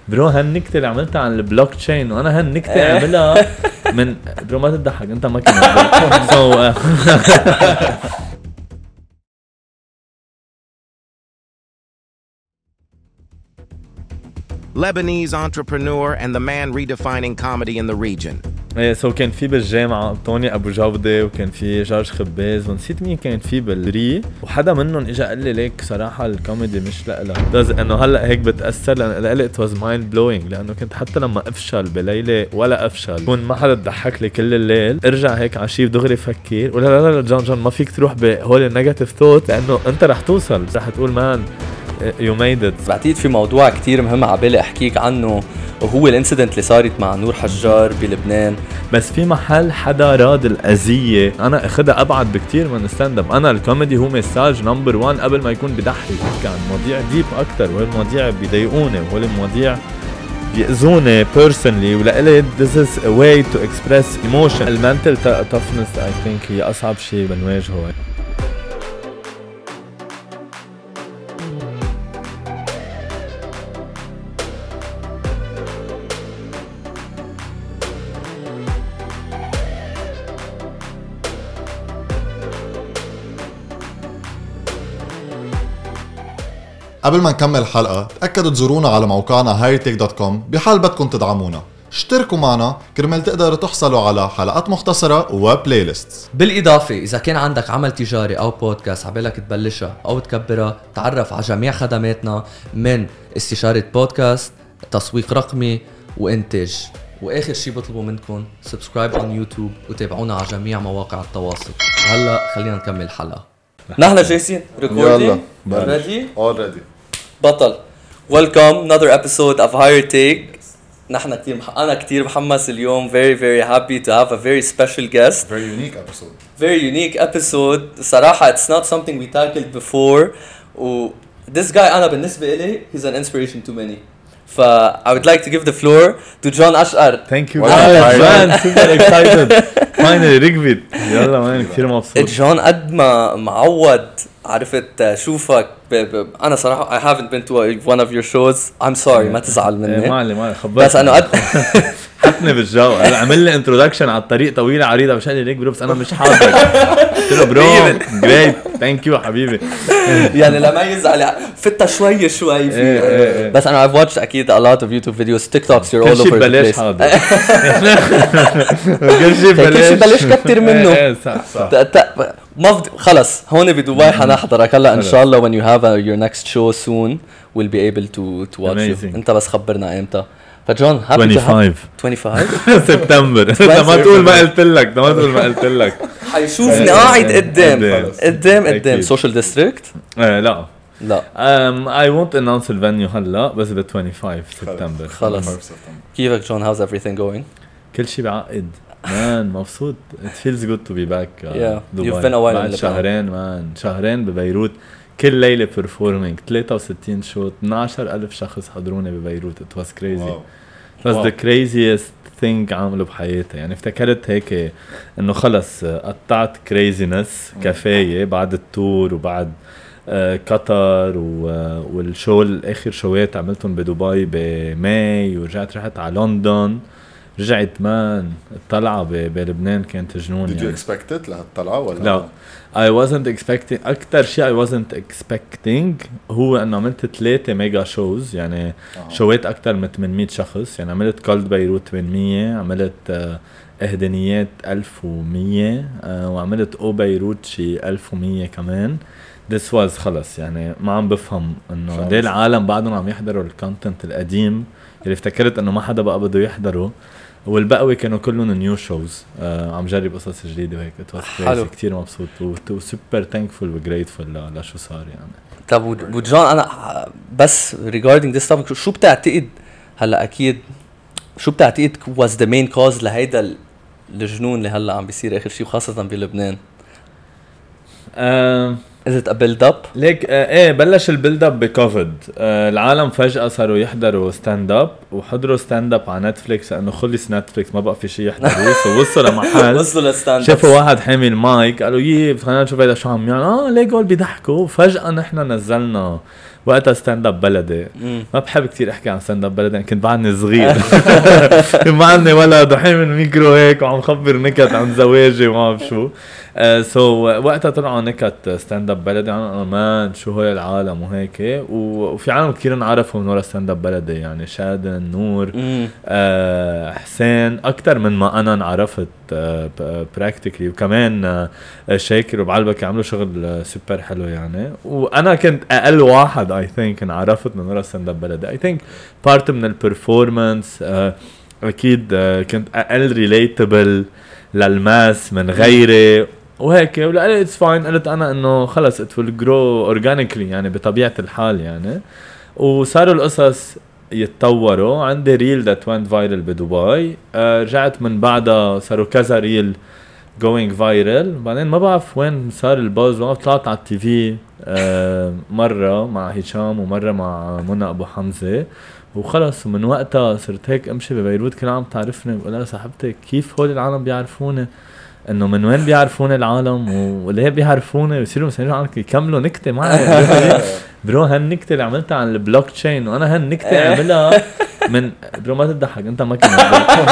برو هالنكتة اللي عملتها عن البلوك تشين وانا هالنكتة عملها من برو ما تضحك انت ما كنت Lebanese entrepreneur and the man redefining comedy in the region. ايه سو كان في بالجامعة طوني أبو جودة وكان في جورج خباز ونسيت مين كان في بالري وحدا منهم إجا قال لي ليك صراحة الكوميدي مش لألك بس إنه هلأ هيك بتأثر لأن it was mind blowing لأنه كنت حتى لما أفشل بليلة ولا أفشل كون ما حدا تضحك لي كل الليل ارجع هيك عشيف دغري فكر ولا لا لا جون ما فيك تروح بهول النيجاتيف ثوت لأنه أنت رح توصل رح تقول مان you made it. بعتقد في موضوع كتير مهم عبالي أحكيك عنه وهو الانسيدنت اللي صارت مع نور حجار بلبنان. بس في محل حدا راد الأذية أنا أخدها أبعد بكتير من الستاند اب. أنا الكوميدي هو مساج نمبر 1 قبل ما يكون بضحك عن مواضيع ديب أكتر وهالمواضيع بيضايقوني وهالمواضيع بيأذوني personally ولقلي this is a way to express emotion. المنتل toughness I think هي أصعب شيء بنواجهه. قبل ما نكمل الحلقة تأكدوا تزورونا على موقعنا hightech.com بحال بدكم تدعمونا. اشتركوا معنا كرمال تقدروا تحصلوا على حلقات مختصرة وبلاي ليست. بالإضافة إذا كان عندك عمل تجاري أو بودكاست عبالك تبلشها أو تكبرها تعرف على جميع خدماتنا من استشارة بودكاست تسويق رقمي وإنتاج. وآخر شي بطلبوا منكم سبسكرايب على يوتيوب وتابعونا على جميع مواقع التواصل. هلأ خلينا نكمل الحلقة. نحن جاهزين ريكوردينج ready already بطل. Welcome another episode of Higher Take. نحن أنا كتير محمس اليوم. Very very happy to have a very special guest. Very unique episode. صراحة it's not something we tackled before. This guy أنا بالنسبة إلي he's an inspiration to many. I would like to give the floor to John Ashar. Thank you man, super excited. Finally ركبت. يلا مان كثير مبسوط. جون قد ما معود عرفت شوفك أنا صراحة I haven't been to one of your shows. I'm sorry ما تزعل مني. ما خبرت. بس أنا قد حطني بالجو. عمل لي انترودكشن على الطريق طويلة عريضة مش قال لي ليك برو بس أنا مش حاضر. قلت له برو great thank you حبيبي. يعني لما يزعل فتة شوي فيه. بس أنا I've watched أكيد a lot of YouTube videos TikToks you're all over the place. كل شيء بلاش كتير منه. خلص هون بدبي حنحضرك هلا إن شاء الله when you have your next show soon we'll be able to watch you. أنت بس خبرنا إمتى. فجون 25 سبتمبر. ما تقول ما قلت لك حيشوفني قاعد قدام سوشيال ديستريكت. لا لا I won't announce الفانيو هلا بس ب 25 سبتمبر. خلص كيفك جون how's everything going؟ كل شيء بعقد مان مبسوط. It feels good to be back. You've been a while بعد شهرين ببيروت كل ليلة performing 63 شوط 12,000 شخص حضروني ببيروت. It was crazy. It was the craziest thing عمله بحياتي. يعني افتكرت هيك انه خلص قطعت craziness كفاية بعد التور وبعد قطر والشو الاخر شوات عملتهم بدبي بماي ورجعت رحت على لندن. رجعت مان الطلعة بلبنان كانت جنون. Did you expect it لهالطلعة ولا لا I wasn't expecting. أكتر شيء I wasn't expecting هو أنه عملت 3 ميجا شوز يعني شوات أكتر من 800 شخص. يعني عملت كولد بيروت 800 عملت إهدانيات 1100 وعملت أو بيروت شي 1100 كمان. This was خلص يعني ما عم بفهم أنه ليه العالم بعدهم عم يحضروا الكونتنت القديم اللي افتكرت أنه ما حدا بقى بده يحضره والبقوي كانوا كلهم نيو شوز. عم جرب قصص جديدة وهيك. حلو كتير مبسوط وسوبر ثانكفول وجريتفول لشو صار يعني. طب وجون أنا بس regarding this topic شو بتعتقد هلا أكيد شو بتعتقد was the main cause لهيدا الجنون اللي هلا عم بيصير آخر شيء وخاصة بلبنان؟ Is it a build up؟ ليك ايه بلش البيلد اب بكوفيد. العالم فجأة صاروا يحضروا ستاند اب وحضروا ستاند اب على نتفليكس لانه خلص نتفليكس ما بقى في شيء يحضروه. وصلوا لمحل وصلوا لستاند اب شافوا واحد حامل مايك قالوا خلينا نشوف هذا شو عم يعني ليه قول بيضحكوا. فجأة نحن نزلنا وقتها ستاند اب بلدي. ما بحب كتير احكي عن ستاند اب بلدي، كنت بعدني صغير ما عندي ولا دحين من ميكرو هيك وعم خبر نكت عن زواجي وما بعرف شو. سو وقتها طلعوا نكت ستاند اب بلدي عن مان شو هو العالم وهيك، وفي عالم كتير انعرفوا من ورا ستاند اب بلدي، يعني شادن، نور، حسين، اكتر من ما انا انعرفت براكتيكلي، وكمان شاكر وبعلبك عملوا شغل سوبر حلو يعني. وانا كنت اقل واحد اي ثينك انعرفت من ورا ستاند اب بلدي. اي ثينك بارت من البرفورمانس، اكيد كنت اقل ريليتابل للماس من غيري وهيك، ولا اتس فاين. قلت انا انه خلص ات ويل جرو اورجانيكلي يعني بطبيعه الحال يعني. وصاروا القصص يتطوروا. عندي ريل ذات وينت فايرل بدبي، رجعت من بعدها صاروا كذا ريل going viral. بعدين ما بعرف وين صار الباز، ما طلعت على التي في مرة مع هشام ومرة مع منى أبو حمزة وخلص. ومن وقتها صرت هيك امشي ببيروت كل عام تعرفني، بقول لها صاحبتي كيف هول العالم بيعرفوني، انه من وين بيعرفوني العالم وليه بيعرفوني، ويصيروا مسألين عنك يكملوا نكتة معي. برو هالنكتة اللي عملتها عن البلوك تشين وانا هالنكتة عملها من برو ما تضحك انت ما كنت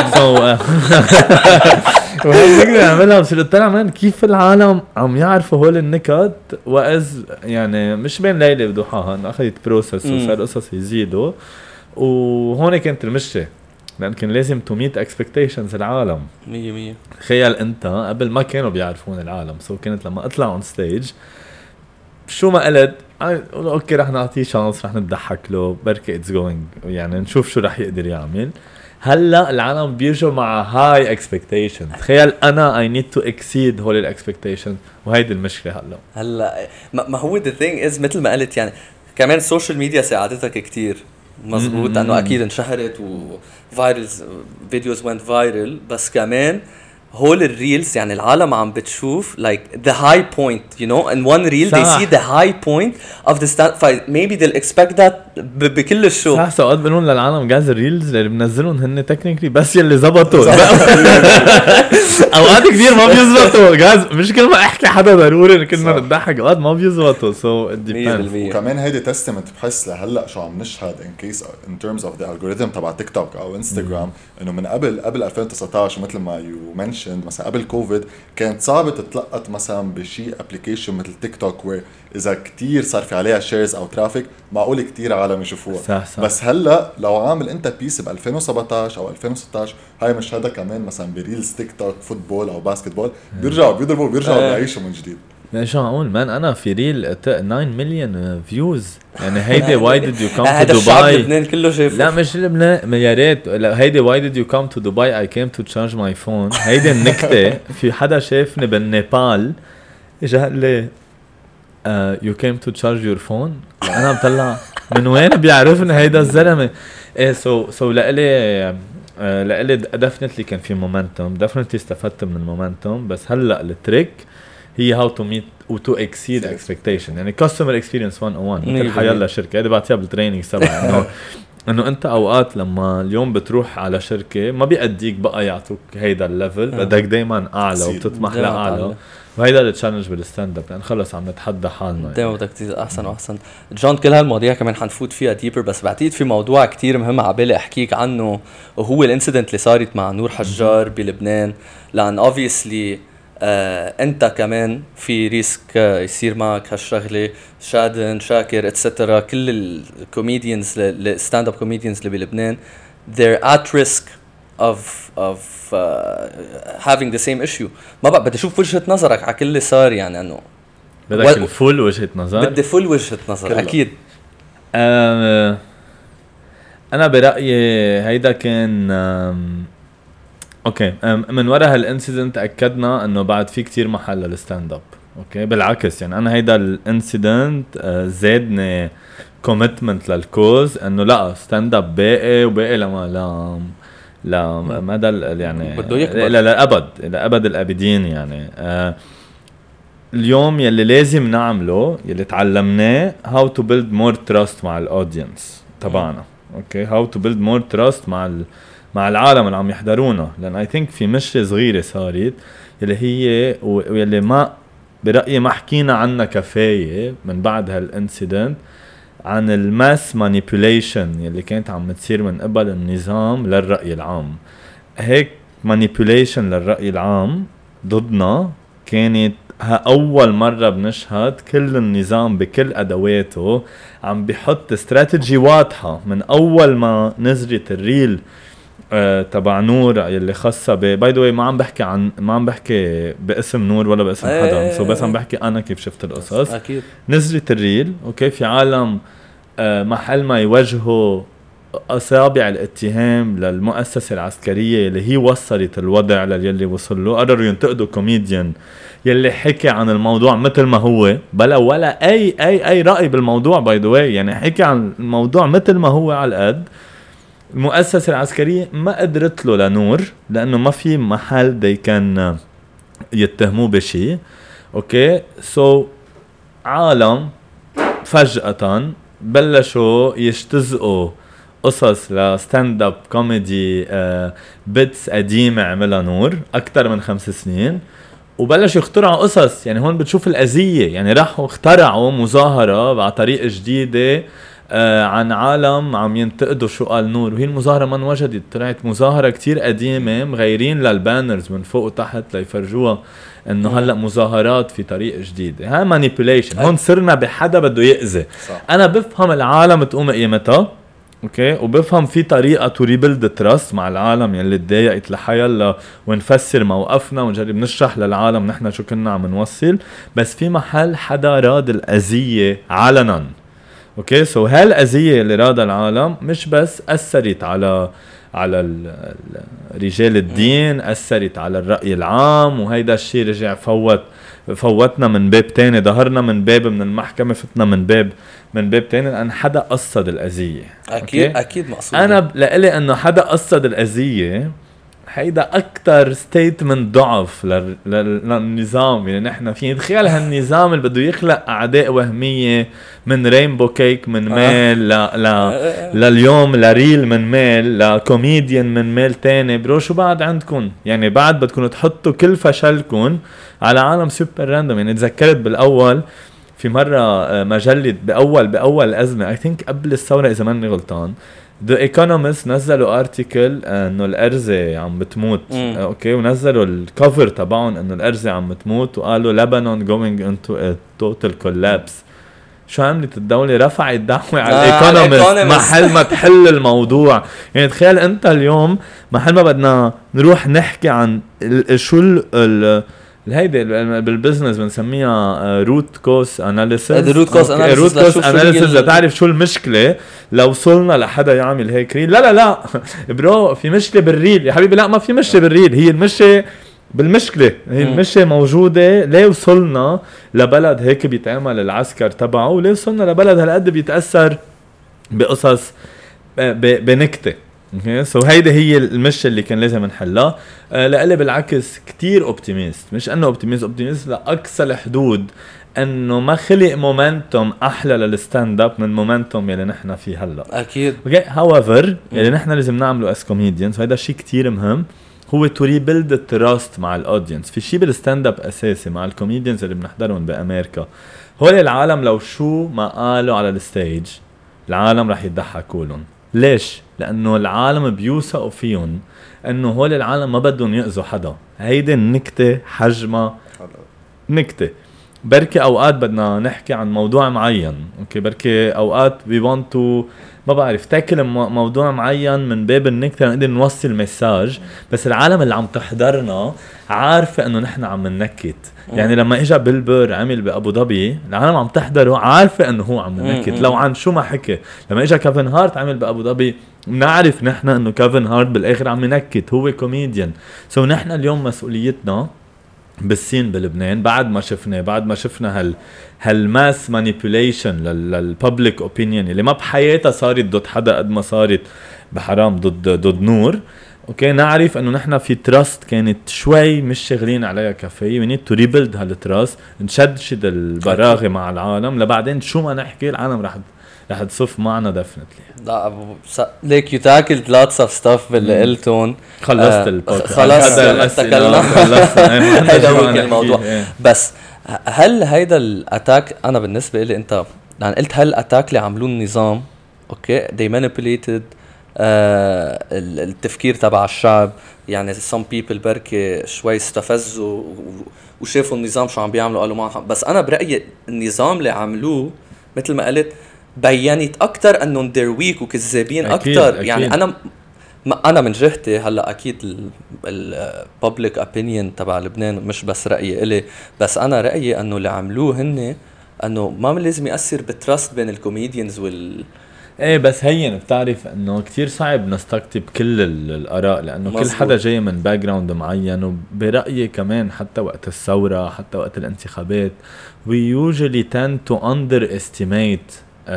وهالنكتة عملها. بس قلت لها مان كيف العالم عم يعرفوا هول النكت، وإذ يعني مش بين ليلة وضحاها انه اخذت بروسس وصار قصص يزيدوا. وهون كانت المشكلة، لأن كان لازم to meet expectations العالم 100%. تخيل أنت قبل ما كانوا بيعرفون العالم، سو كانت لما أطلع on stage شو ما قلت أوكي رح نعطيه شانس، رح نضحك له بركة it's going يعني نشوف شو رح يقدر يعمل. هلا العالم بيجوا مع high expectations. تخيل أنا I need to exceed هول ال expectations، وهيدي المشكلة هلا ما هو the thing is مثل ما قلت يعني كمان السوشيال ميديا ساعدتك كتير مزبوط، انه اكيد انشهرت وفايرلز فيديوز went viral، بس كمان هول الريلز يعني العالم عم بتشوف like the high point you know in one reel they see the high point of the stand maybe they'll expect that بكل الشو. صح ساعات بنقول للعالم جاز الريلز اللي بنزلهم هن تكنيكلي بس يلي زبطوا اوقات كثير ما بيزبطوا جاز، مش كل ما احكي حدا ضروري كل ما نضحك، اوقات ما بيزبطوا. سو وكمان هيدي تستمت بحس لهلا شو عم نشهد in case in terms of the algorithm تبع تيك توك او انستغرام، انه من قبل 2019 مثل ما يو منشند مثلا قبل كوفيد كانت صعبة تتلقط مثلا بشي ابليكيشن مثل تيك توك وير اذا كتير صار في عليها شيرز او ترافيك معقول كتير عالم يشوفوها. صح. بس هلا لو عامل انت بيس ب 2017 او 2016 هاي مشهدها كمان مثلا بريلز تيك توك فوتبول او باسكتبول بيرجعوا بيضربوا بيعيشوا من جديد. شو اقول مان انا في ريل 9 مليون فيوز يعني هيدي واي ديد يو كم تو هذا الشعب دبي لبنان كله شايفه. لا مش لبنان يا ريت هيدي واي ديد يو كم تو دبي اي كيم تو تشارج ماي فون. هيدي النكته في حدا شافني بالنيبال اجى قال لي يو كيم تو تشارج يور فون. انا بطلع من وين بيعرفني هيدا الزلمه. ايه سو لقلي دفنتلي كان في مومنتوم، دفنتلي استفدت من المومنتوم. بس هلا التريك هي how to meet و to exceed expectation يعني customer experience 101 مثل حيالله شركة. هذا بعتيها بالتريننج سبعة انه انت اوقات لما اليوم بتروح على شركة ما بيأديك بقى يعطوك هيدا الليفل، بدك دايما اعلى وبتطمح لأعلى. وهيدا التشالنج بالستاند اب لان خلص عم نتحدى حالنا دايما بدك تصير احسن واحسن. جون كل هالمواضيع كمان حنفوت فيها ديبر، بس بعتقد في موضوع كتير مهم عبالي احكيك عنه وهو الانسيدنت اللي صارت مع نور حجار بلبنان. لان obviously انت كمان في ريسك يصير معك هالشغله. شادن، شاكر اتسترا كل الكوميديانز الستاند اب كوميديانز اللي بلبنان they're at risk of having the same issue. ما بقى بدي اشوف وجهة نظرك على كل اللي صار يعني انه بدك الفول وجهة نظر. بدي فول وجهة نظر اكيد. انا برأيي هيدا كان اوكي من وراء هالانسيدنت اكدنا انه بعد في كتير محل للستاند اب. اوكي بالعكس يعني انا هيدا الانسيدنت زادني كوميتمنت للكوز انه لا ستاند اب باقي وباقي لا مدى يعني لا ابد الابدين يعني. اليوم يلي لازم نعمله يلي تعلمناه how to build more trust مع الاودينس تبعنا. اوكي how to build more trust مع العالم اللي عم يحضرونا. لان I think في مشكلة صغيرة صارت يلي هي ويلي ما برأيي ما حكينا عنها كفاية من بعد هالانسيدنت. عن الماس مانيبيوليشن اللي كانت عم تصير من قبل النظام للرأي العام. هيك مانيبيوليشن للرأي العام ضدنا كانت أول مرة بنشهد كل النظام بكل أدواته عم بيحط استراتيجي واضحة من أول ما نزلت الريل تبع نور اللي خاصة باي ذا واي. ما عم بحكي باسم نور ولا باسم حدا، سو بس عم بحكي أنا كيف شفت القصص. أكيد نزلت الريل أوكي، في عالم محل ما يوجهوا أصابع الاتهام للمؤسسة العسكرية اللي هي وصلت الوضع للي وصل له، قرروا ينتقدوا كوميديان يلي حكي عن الموضوع مثل ما هو بلا ولا أي رأي بالموضوع باي ذا واي، يعني حكي عن الموضوع مثل ما هو على القد. المؤسسة العسكرية ما قدرت له لنور لأنه ما في محل دي كان يتهموه بشي. أوكي سو عالم فجأة بلشوا يجتزقوا قصص لستاند اب كوميدي بيتس قديمة عملها نور أكتر من 5 سنين، وبلشوا يخترعوا قصص. يعني هون بتشوف الأذية، يعني راحوا اخترعوا مظاهرة على طريقة جديدة عن عالم عم ينتقدوا شو قال نور، وهي المظاهرة ما انوجدت، طلعت مظاهرة كتير قديمة مغيرين للبانرز من فوق وتحت ليفرجوها انه هلأ مظاهرات في طريقة جديدة. ها مانيبيوليشن. هون صرنا بحدا بده يأذي. انا بفهم العالم تقوم قيمتها اوكي، وبفهم في طريقة تو ريبيلد تراست مع العالم يلي تضايقت لحيالله، ونفسر موقفنا ونجرب نشرح للعالم نحن شو كنا عم نوصل. بس في محل حدا راد الأذية علنا اوكي. سو هالأذية اللي رادها العالم مش بس أثرت على رجال الدين، أثرت على الرأي العام، وهيدا الشيء رجع فوتنا من باب تاني، ظهرنا من باب من المحكمة، فتنا من باب تاني لأن حدا قصد الأذية. أكيد مقصود. أنا لقلي أنه حدا قصد الأذية هيدا أكتر ستيتمنت ضعف للنظام. يعني نحن في نتخيل هالنظام اللي بده يخلق أعداء وهمية من رينبو كيك من ميل لليوم لريل من ميل لكوميديان من ميل تاني. برو شو بعد عندكم؟ يعني بعد بدكم تحطوا كل فشلكم على عالم سوبر راندوم. يعني تذكرت بالأول في مرة مجلة بأول أزمة I think قبل الثورة إذا ماني غلطان، The Economist نزلوا ارتيكل انه الارزة عم بتموت اوكي، ونزلوا الكفر تبعهم انه الارزة عم بتموت، وقالوا Lebanon going into a total collapse. شو عملت الدولة؟ رفعت دعوة على Economist محل ما تحل الموضوع. يعني تخيل انت اليوم محل ما بدنا نروح نحكي عن شو هيدي بالبزنس بنسميها روت كوس اناليسيس. روت كوس اناليسيس لتعرف شو المشكله. لو وصلنا لحدا يعمل هيك ريل، لا برو في مشكله بالريل يا حبيبي. لا ما في مشكله بالريل، هي المشكله بالمشكله، هي المشكله موجوده. ليه وصلنا لبلد هيك بيتعمل العسكر تبعه، وليه وصلنا لبلد هالقد بيتاثر بقصص بنكته. سو هيدا هي المشكلة اللي كان لازم نحلها. لقلي بالعكس كتير اوبتيميست، مش انه اوبتيميست لأقصى الحدود، انه ما خلق مومنتوم احلى للستاند اب من مومنتوم يلي نحن فيه هلا. اكيد. هاويفر يلي نحن لازم نعمله اس كوميديانز، وهذا شيء كتير مهم، هو تو ريبيلد التراست مع الاودينس. في شيء بالستاند اب اساسي مع الكوميديانز اللي بنحضرهم بامريكا، هول العالم لو شو ما قالوا على الستيج العالم رح يضحكوا لهم. ليش؟ لأنه العالم بيوثقوا فيهم أنه هول العالم ما بدهم يأذوا حدا. هيدي النكتة حجمها نكتة. بركي أوقات بدنا نحكي عن موضوع معين أوكي، بركي أوقات we want to ما بعرف تاكل موضوع معين من باب النكتة نقدر نوصل مساج، بس العالم اللي عم تحضرنا عارفة أنه نحن عم ننكت. يعني لما إجا بيل بير عمل بأبو ظبي العالم عم تحضره عارفة أنه هو عم ننكت لو عن شو ما حكي. لما إجا كيفن هارت عمل بأبو ظبي نعرف نحن أنه كيفن هارت بالآخر عم ينكت، هو كوميديان. سو نحن اليوم مسؤوليتنا بالسين بلبنان بعد ما شفنا هالماس مانيبيوليشن للببليك اوبينيون اللي ما بحياتها صارت ضد حدا قد ما صارت بحرام ضد نور اوكي. نعرف انه نحن في تراست كانت شوي مش شغلين عليها كفايه، we need to rebuild هالتراست، نشدد البراغي مع العالم لبعدين شو ما نحكي العالم رح تصف معنا ديفنتلي. لا ليك you tackled lots of stuff باللي قلتون. خلصت البودكاست خلص تكلمنا. هذا هو الموضوع. بس هل هيدا الاتاك، انا بالنسبه لي انت لأن قلت هالأتاك اللي عملوه النظام اوكي they manipulated التفكير تبع الشعب. يعني some people بركي شوي استفزوا وشافوا النظام شو عم بيعملوا قالوا ما. بس أنا برأيي النظام اللي عملوه مثل ما قلت بيّنت أكتر أنهم they're weak وكذابين أكتر. يعني أنا من جهتي هلأ أكيد public opinion تبع لبنان مش بس رأيي إلي، بس أنا رأيي أنه اللي عملوه هن أنه ما لازم يأثر بالتراست بين الكوميديانز ايه بس هين بتعرف انه كتير صعب نستقطب كل الاراء لانه مزبوط. كل حدا جاي من باك جراوند معين، وبرايي كمان حتى وقت الثوره حتى وقت الانتخابات we usually tend to underestimate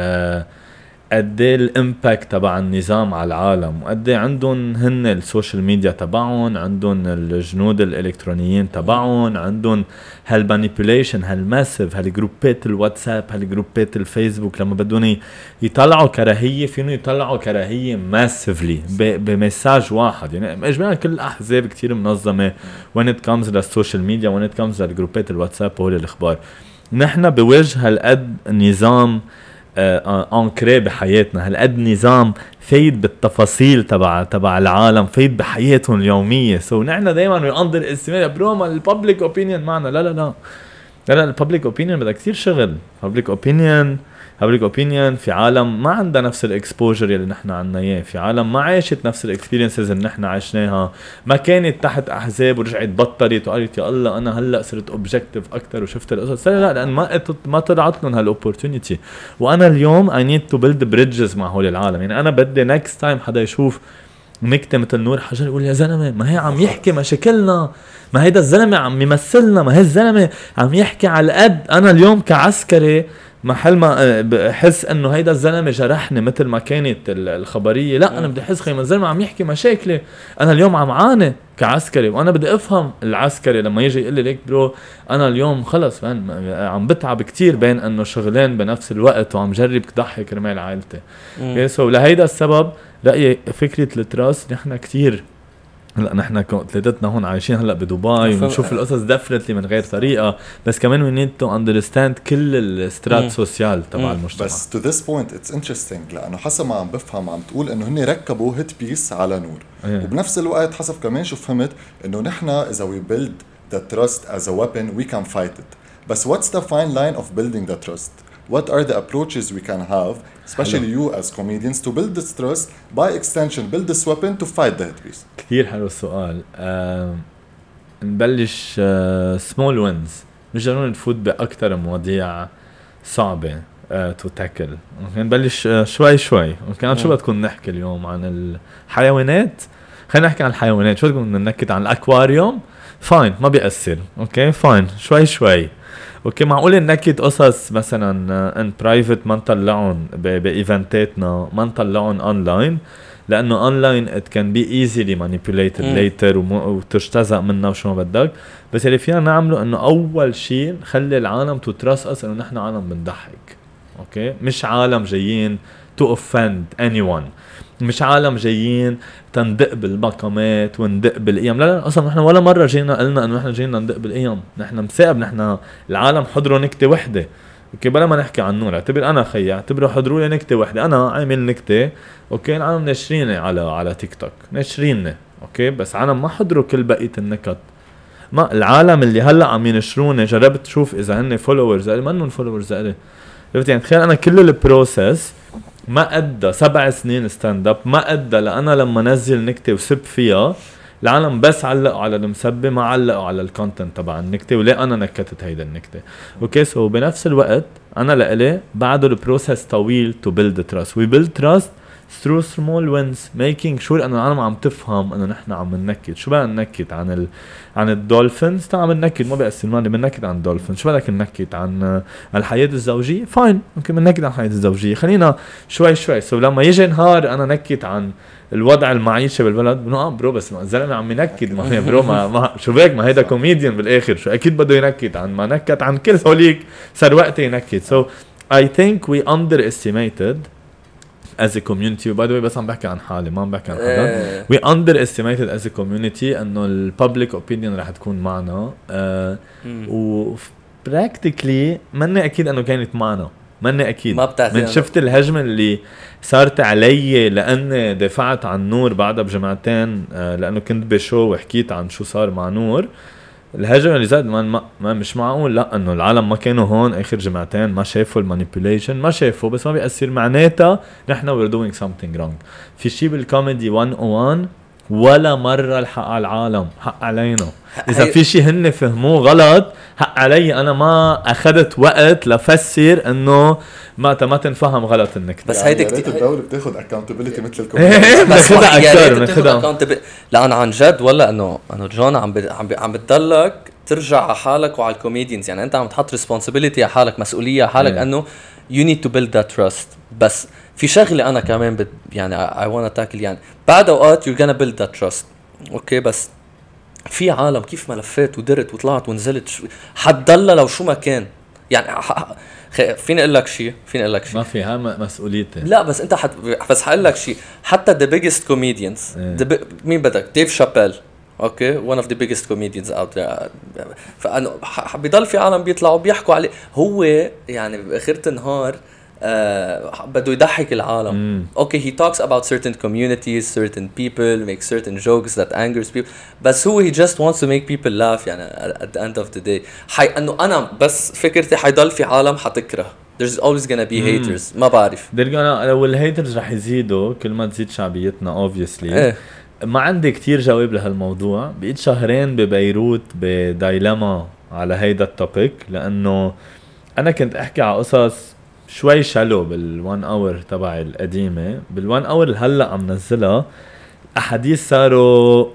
قد ايه الامباكت تبع النظام على العالم، وقد ايه عندهم هن السوشيال ميديا تبعهم، عندهم الجنود الالكترونيين تبعهم، عندهم هالمانيبيوليشن هالماسيف هالجروبات الواتساب هالجروبات الفيسبوك. لما بدهم يطلعوا كراهيه فينو يطلعوا كراهيه ماسيفلي بمساج واحد. يعني اجمالا كل الاحزاب كتير منظمه when it comes للسوشيال ميديا when it comes للجروبات الواتساب وهول الاخبار. نحن بوجه هالقد نظام انكري بحياتنا، هالقد نظام فايد بالتفاصيل تبع العالم، فايد بحياتهم اليوميه. سو نحن دائما بنقدر استماع بروما الببليك اوبينيون معنا. لا الببليك اوبينيون بدها كثير شغل. ببليك اوبينيون في عالم ما عندها نفس الاكسبوجر اللي نحن عنا اياه، في عالم ما عاشت نفس الاكسبيرينسز اللي نحن عشناها، ما كانت تحت احزاب ورجعت بطلت وقالت يا الله انا هلا صرت اوبجكتيف اكثر وشفت القصص. لا لان ما طلعت لهم هالاوبورتونيتي. وانا اليوم I need to build bridges مع هول العالم. يعني انا بدي next time حدا يشوف نكتة مثل نور حجر يقول يا زلمه ما هي عم يحكي مشاكلنا، ما هيدا الزلمه عم يمثلنا، ما هي الزلمه عم يحكي على القد. انا اليوم كعسكري محل ما بحس انه هيدا الزلمه جرحني مثل ما كانت الخبريه، لا انا بدي احس خيما الزلمه عم يحكي مشاكلي. انا اليوم عم عاني كعسكري وانا بدي افهم العسكري لما يجي يقول لي ليك برو انا اليوم خلص عم بتعب كتير بين انه شغلين بنفس الوقت وعم جرب كضحك رمال عائلتي. سو لهيدا السبب رايي فكره التراست نحن كتير هلا نحن ثلاثتنا هون عايشين هلا بدبي ونشوف القصص ديفنتلي من غير طريقه، بس كمان we need to understand كل السترات سوسيال تبع المجتمع. بس to this point it's interesting لانه حسب ما عم بفهم عم تقول انه هن ركبوا هيت بيس على نور وبنفس الوقت حسب كمان شو فهمت انه نحن اذا we build the trust as a weapon we can fight it. بس what's the fine line of building the trust? What are the approaches we can have, especially you as comedians, to build this trust, by extension build this weapon to fight the hit piece? كتير حلو السؤال. نبلش small wins، مش ضروري نفوت بأكتر مواضيع صعبة to tackle. نبلش شوي. كان شو بدكم نحكي اليوم عن الحيوانات؟ خلينا نحكي عن الحيوانات. شو بدكم ننكت عن الأكواريوم؟ فاين ما بيأثر. اوكي فاين شوي. اوكي معقول ننكد قصص مثلا ان برايفت ما نطلعهم بايفنتاتنا، ما نطلعهم اونلاين لانه اونلاين it can be easily manipulated later وتجتزأ منها وشو ما بدك. بس اللي فينا نعمله انه اول شيء نخلي العالم تترصص انه نحن عالم بنضحك. اوكي مش عالم جايين to offend anyone، مش عالم جايين تندق بالمقامات وندق بالقيم. لا اصلا نحن ولا مره جينا قلنا انه نحن جايين ندق بالقيم. نحن مسائب، نحن العالم حضروا نكته وحده. اوكي بلا ما نحكي عن نور، اعتبر انا خي اعتبروا حضروا لي نكته وحده، انا عامل نكته اوكي العالم ناشريني على تيك توك ناشريني اوكي، بس عالم ما حضروا كل بقيه النكت. ما العالم اللي هلا عم ينشروني جربت تشوف اذا هن فولورز ما انهم فولورز لي. يعني تخيل انا كل البروسيس ما ادى 7 سنين ستاند اب، ما ادى لأنا لما نزل نكته وسب فيها العالم بس علقوا على المسبه ما علقوا على الكونتنت تبع النكته وليه انا نكتت هيدا النكته. اوكي سو بنفس الوقت انا لإلي بعده البروسيس طويل to build trust. we build trust through small wins, making sure انه العالم عم تفهم انه نحن عم ننكت. شو بقى ننكت عن الدولفينز؟ عم ننكت ما بيأثر مالي، بننكت عن الدولفينز. شو بدك ننكت عن الحياة الزوجية؟ فاين ممكن بننكت عن الحياة الزوجية، خلينا شوي سو لما يجي نهار انا نكت عن الوضع المعيشة بالبلد بنو برو بس ما الزلمة عم ينكد ما هي برو ما شو بك ما هيدا كوميديان بالاخر، شو اكيد بده ينكت عن ما نكت عن كل هوليك صار وقت ينكت. so I think we underestimated as a community. by the way بس عم بحكي عن حالي ما عم بحكي عن حدا. we underestimated as a community انه ال public opinion رح تكون معنا و practically مني اكيد انه كانت معنا ماني اكيد ما بتعرف من شفت الهجمه اللي صارت علي لان دفعت عن نور بعدها بجمعتين لانه كنت بشو وحكيت عن شو صار مع نور. الهجمه اللي زاد ما مش معقول لا انه العالم ما كانوا هون اخر جمعتين ما شافوا المانيبيوليشن ما شافوا بس ما بيأثر معناتها نحن we're doing something wrong. في شيء بالكوميدي 101 ولا مرة الحق على العالم حق علينا إذا في شيء هن فهموه غلط حق علي أنا ما أخذت وقت لفسر إنه ما تنفهم غلط النكتة. بس هيدا كتير الدولة بتاخد accountability مثل الكوميدي بس بناخدها أكتر لأن عن جد ولا إنه جون عم بتضلك ترجع على حالك وعلى الكوميديانز. يعني أنت عم تحط responsibility على حالك مسؤولية على حالك إنه you need to build that trust. بس في شغلة أنا كمان يعني I wanna tackle يعني بعد أوقات you're gonna build that trust أوكي بس في عالم كيف ملفات ودرت وطلعت ونزلت حتضل لو شو ما كان يعني فين أقول لك شيء ما فيها مسؤوليتي لا بس أنت بس حقول لك شيء حتى the biggest comedians مين بدك ديف شابيل اوكي one of the biggest comedians out there فأنه بيضل في عالم بيطلعوا بيحكوا عليه هو يعني بآخرة النهار بده يضحك العالم. Okay, he talks about certain communities, certain people, makes certain jokes that angers people. بس هو he just wants to make people laugh يعني at the end of the day. انه انا بس فكرتي حيضل في عالم حتكره. There's always gonna be haters. ما بعرف. لو الهيترز رح يزيدوا كل ما تزيد شعبيتنا obviously. ما عندي كتير جواب لهالموضوع. بقيت شهرين ببيروت بدايلما على هيدا التوبيك لانه انا كنت احكي على قصص شوي شالو بالوان اور تبع القديمة. بالوان اور هلأ عم نزلها أحاديث صاروا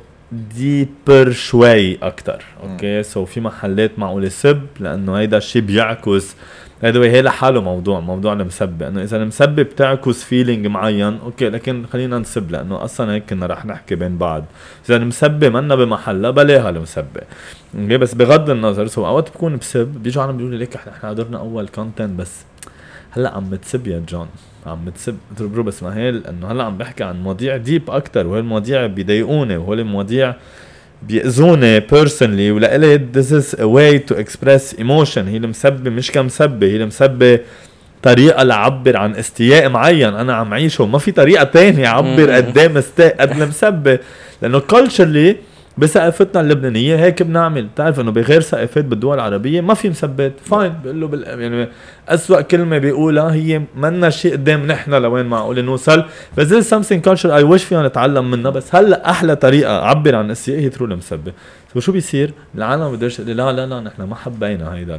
ديبر شوي أكتر. أوكي سو في محلات معقولة سب لأنه هيدا الشي بيعكس هي لحاله موضوع المسبة أنه إذا المسبة بتعكس فيلينج معين أوكي لكن خلينا نسب لأنه أصلا هيك كنا رح نحكي بين بعض. إذا المسبة منا بمحلها بلاها المسبة أوكي بس بغض النظر سو أوقات بكون بسب بيجوا عنا بيقولوا ليك إحنا قدرنا أول كونتنت بس هلا عم بتسب يا جون عم بتسب برو بس ما هي لانه هلا عم بحكي عن مواضيع ديب اكتر وهالمواضيع بيضايقوني وهالمواضيع بيأذوني personally ولقلي this is a way to express emotion. هي المسبة مش كمسبة هي المسبة طريقة لعبر عن استياء معين أنا عم عيشه ما في طريقة تانية عبر قدام استاء قد المسبة لأنه culturally بثقافتنا اللبنانية هيك بنعمل. تعرف انه بغير ثقافات بالدول العربية ما في مسبات فاين بقول له يعني أسوأ كلمة بيقولها هي منا شيء قدام نحن لوين معقول نوصل بس this is something culture I wish فينا نتعلم منها. بس هلا أحلى طريقة عبر عن السياق هي ترو المسبة. شو بيصير العالم بدرش لا نحن ما حبينا هيدا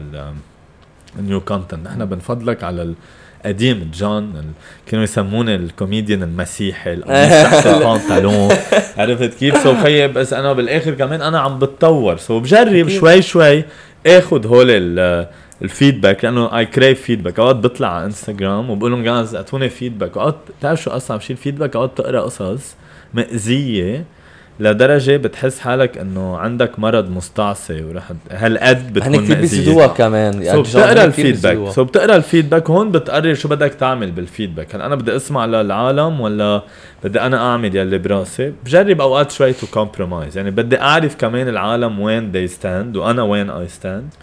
النيو كونتنت نحن بنفضلك على قديم جون كانوا يسمونه الكوميديان المسيحي تحت البنطلون عرفت كيف سو خيي بس انا بالاخر كمان انا عم بتطور سو بجرب شوي اخذ هول الفيدباك لانه اي كريف فيدباك. اوقات بطلع على انستغرام وبقول لهم جايز اعطوني فيدباك. اوقات تعرف شو اصعب شيء الفيدباك اوقات تقرا قصص مأذية لدرجة بتحس حالك انه عندك مرض مستعصي ورح هالقد بتكون مأذية. بيزيدوها كمان يعني بتقرا الفيدباك بتقرا الفيدباك هون بتقرر شو بدك تعمل بالفيدباك. هل انا بدي اسمع للعالم ولا بدي انا اعمل يلي براسي. بجرب اوقات شوي تو كومبرومايز يعني بدي اعرف كمان العالم وين they stand وانا وين I stand.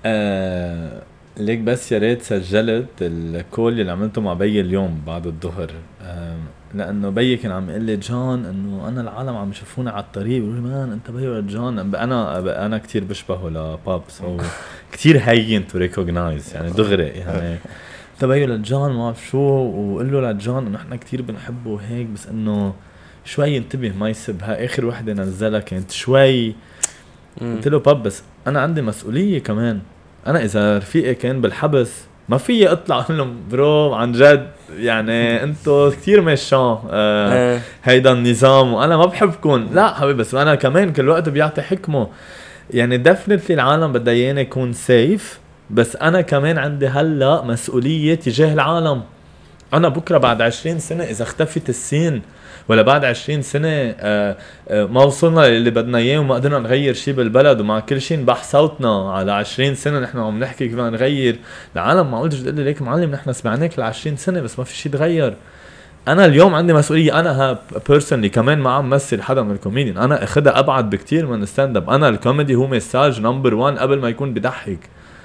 ليك بس يا ريت سجلت الكول اللي عملته مع بي اليوم بعد الظهر لانه بي كان عم يقول لي جون انه انا العالم عم يشوفوني على الطريق بيقولوا مان انت بي ولا جون. انا كتير بشبهه لبابس او كتير هين تو ريكوجنايز يعني دغري يعني انت بي ولا جون ما بعرف شو وقول له لجون انه احنا كتير بنحبه وهيك بس انه شوي انتبه ما يسبها. اخر وحده نزلها كانت شوي قلت له باب بس انا عندي مسؤوليه كمان. انا اذا رفيقي كان بالحبس ما في اطلع اقول لهم برو عن جد يعني انتو كتير مشان هيدا النظام وانا ما بحبكم. لا حبيبي بس انا كمان كل وقت بيعطي حكمه يعني دفنتلي العالم بدها ياني يكون سيف بس انا كمان عندي هلا مسؤوليه تجاه العالم. انا بكره بعد 20 سنه اذا اختفت السين ولا بعد 20 سنة ما وصلنا اللي بدنا اياه وما قدرنا نغير شيء بالبلد ومع كل شيء نبح صوتنا على 20 سنة نحن عم نحكي كيف نغير العالم. ما قلتش تقول لي ليك معلم نحن سمعناك ل 20 سنة بس ما في شيء تغير. انا اليوم عندي مسؤولية. انا ها بيرسونلي كمان ما عم مثل حدا من الكوميديان. انا اخدها ابعد بكتير من الستاند اب. انا الكوميدي هو مساج نمبر 1 قبل ما يكون بضحك.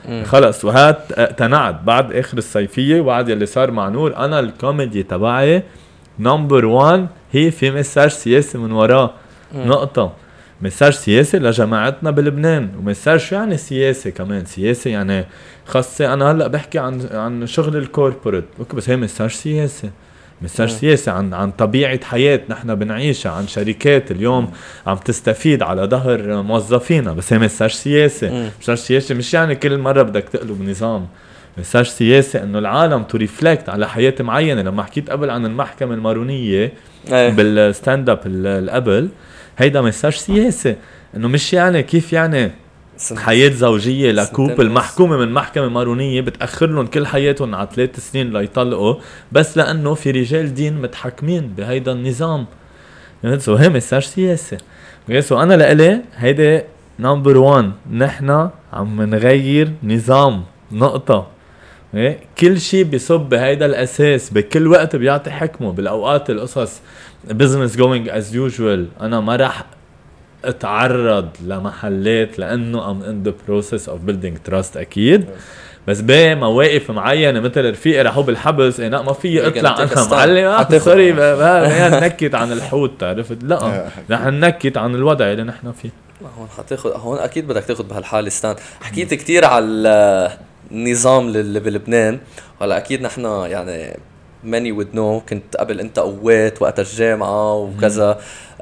خلص وهات اقتنعت بعد اخر الصيفيه وبعد يلي صار مع نور. انا الكوميدي تبعي نمبر 1 هي في مساج سياسي من وراه. نقطه. مساج سياسي لجماعتنا بلبنان، ومساج شو يعني سياسي كمان، سياسي يعني خاصة انا هلا بحكي عن شغل الكوربوريت اوكي، بس هي مساج سياسي، مساج سياسي عن طبيعة حياة نحن بنعيشها، عن شركات اليوم عم تستفيد على ظهر موظفينا، بس هي مساج سياسي. مساج سياسي مش يعني كل مرة بدك تقلب نظام، مساج سياسي انه العالم تو ريفلكت على حياة معينة. لما حكيت قبل عن المحكمة المارونية بالستاند اب قبل، هيدا مساج سياسي انه مش يعني كيف يعني حياة زوجية لكوب المحكومة من محكمة مارونية بتأخر لهم كل حياتهم على 3 سنين ليطلقوا بس لأنه في رجال دين متحكمين بهيدا النظام. يعني هي مساج سياسي. وأنا لإلي هيدا نمبر 1، نحنا عم نغير نظام. نقطة. كل شيء بيصب بهيدا الأساس، بكل وقت بيعطي حكمه. بالأوقات القصص business going as usual أنا ما رح اتعرض لمحلات لانه I'm in the process of building trust اكيد، بس بمواقف معينه مثل رفيقي راحوا بالحبس انا ما في اطلع انا معلم سوري نكت عن الحوت، عرفت؟ لا رح نكت عن الوضع اللي نحن فيه. هون حتاخذ، هون اكيد بدك تاخذ بهالحاله ستان. حكيت كتير على النظام اللي بلبنان، هلا اكيد نحن يعني many would know كنت قبل انت قوات وقت الجامعه وكذا.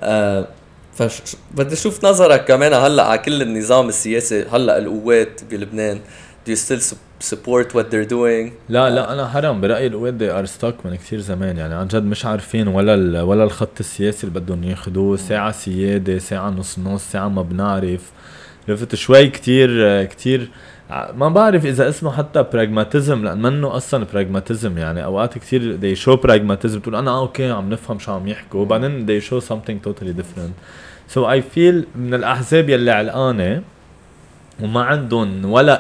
بدي اشوف نظرك كمان هلا على كل النظام السياسي هلا القوات بلبنان. Do you still support what they're doing؟ لا انا حرام برايي القوات they are stuck من كثير زمان، يعني عن جد مش عارفين ولا الخط السياسي اللي بدهم ياخذوه. ساعه سياده، ساعه نص ساعه ما بنعرف. لفت شوي كتير ما بعرف اذا اسمه حتى براغماتيزم، لان منه اصلا براغماتيزم. يعني اوقات كتير they show براغماتيزم، تقول انا اوكي عم نفهم شو عم يحكوا، وبعدين they show something totally different. So I feel من الاحزاب يلي علقانه وما عندهم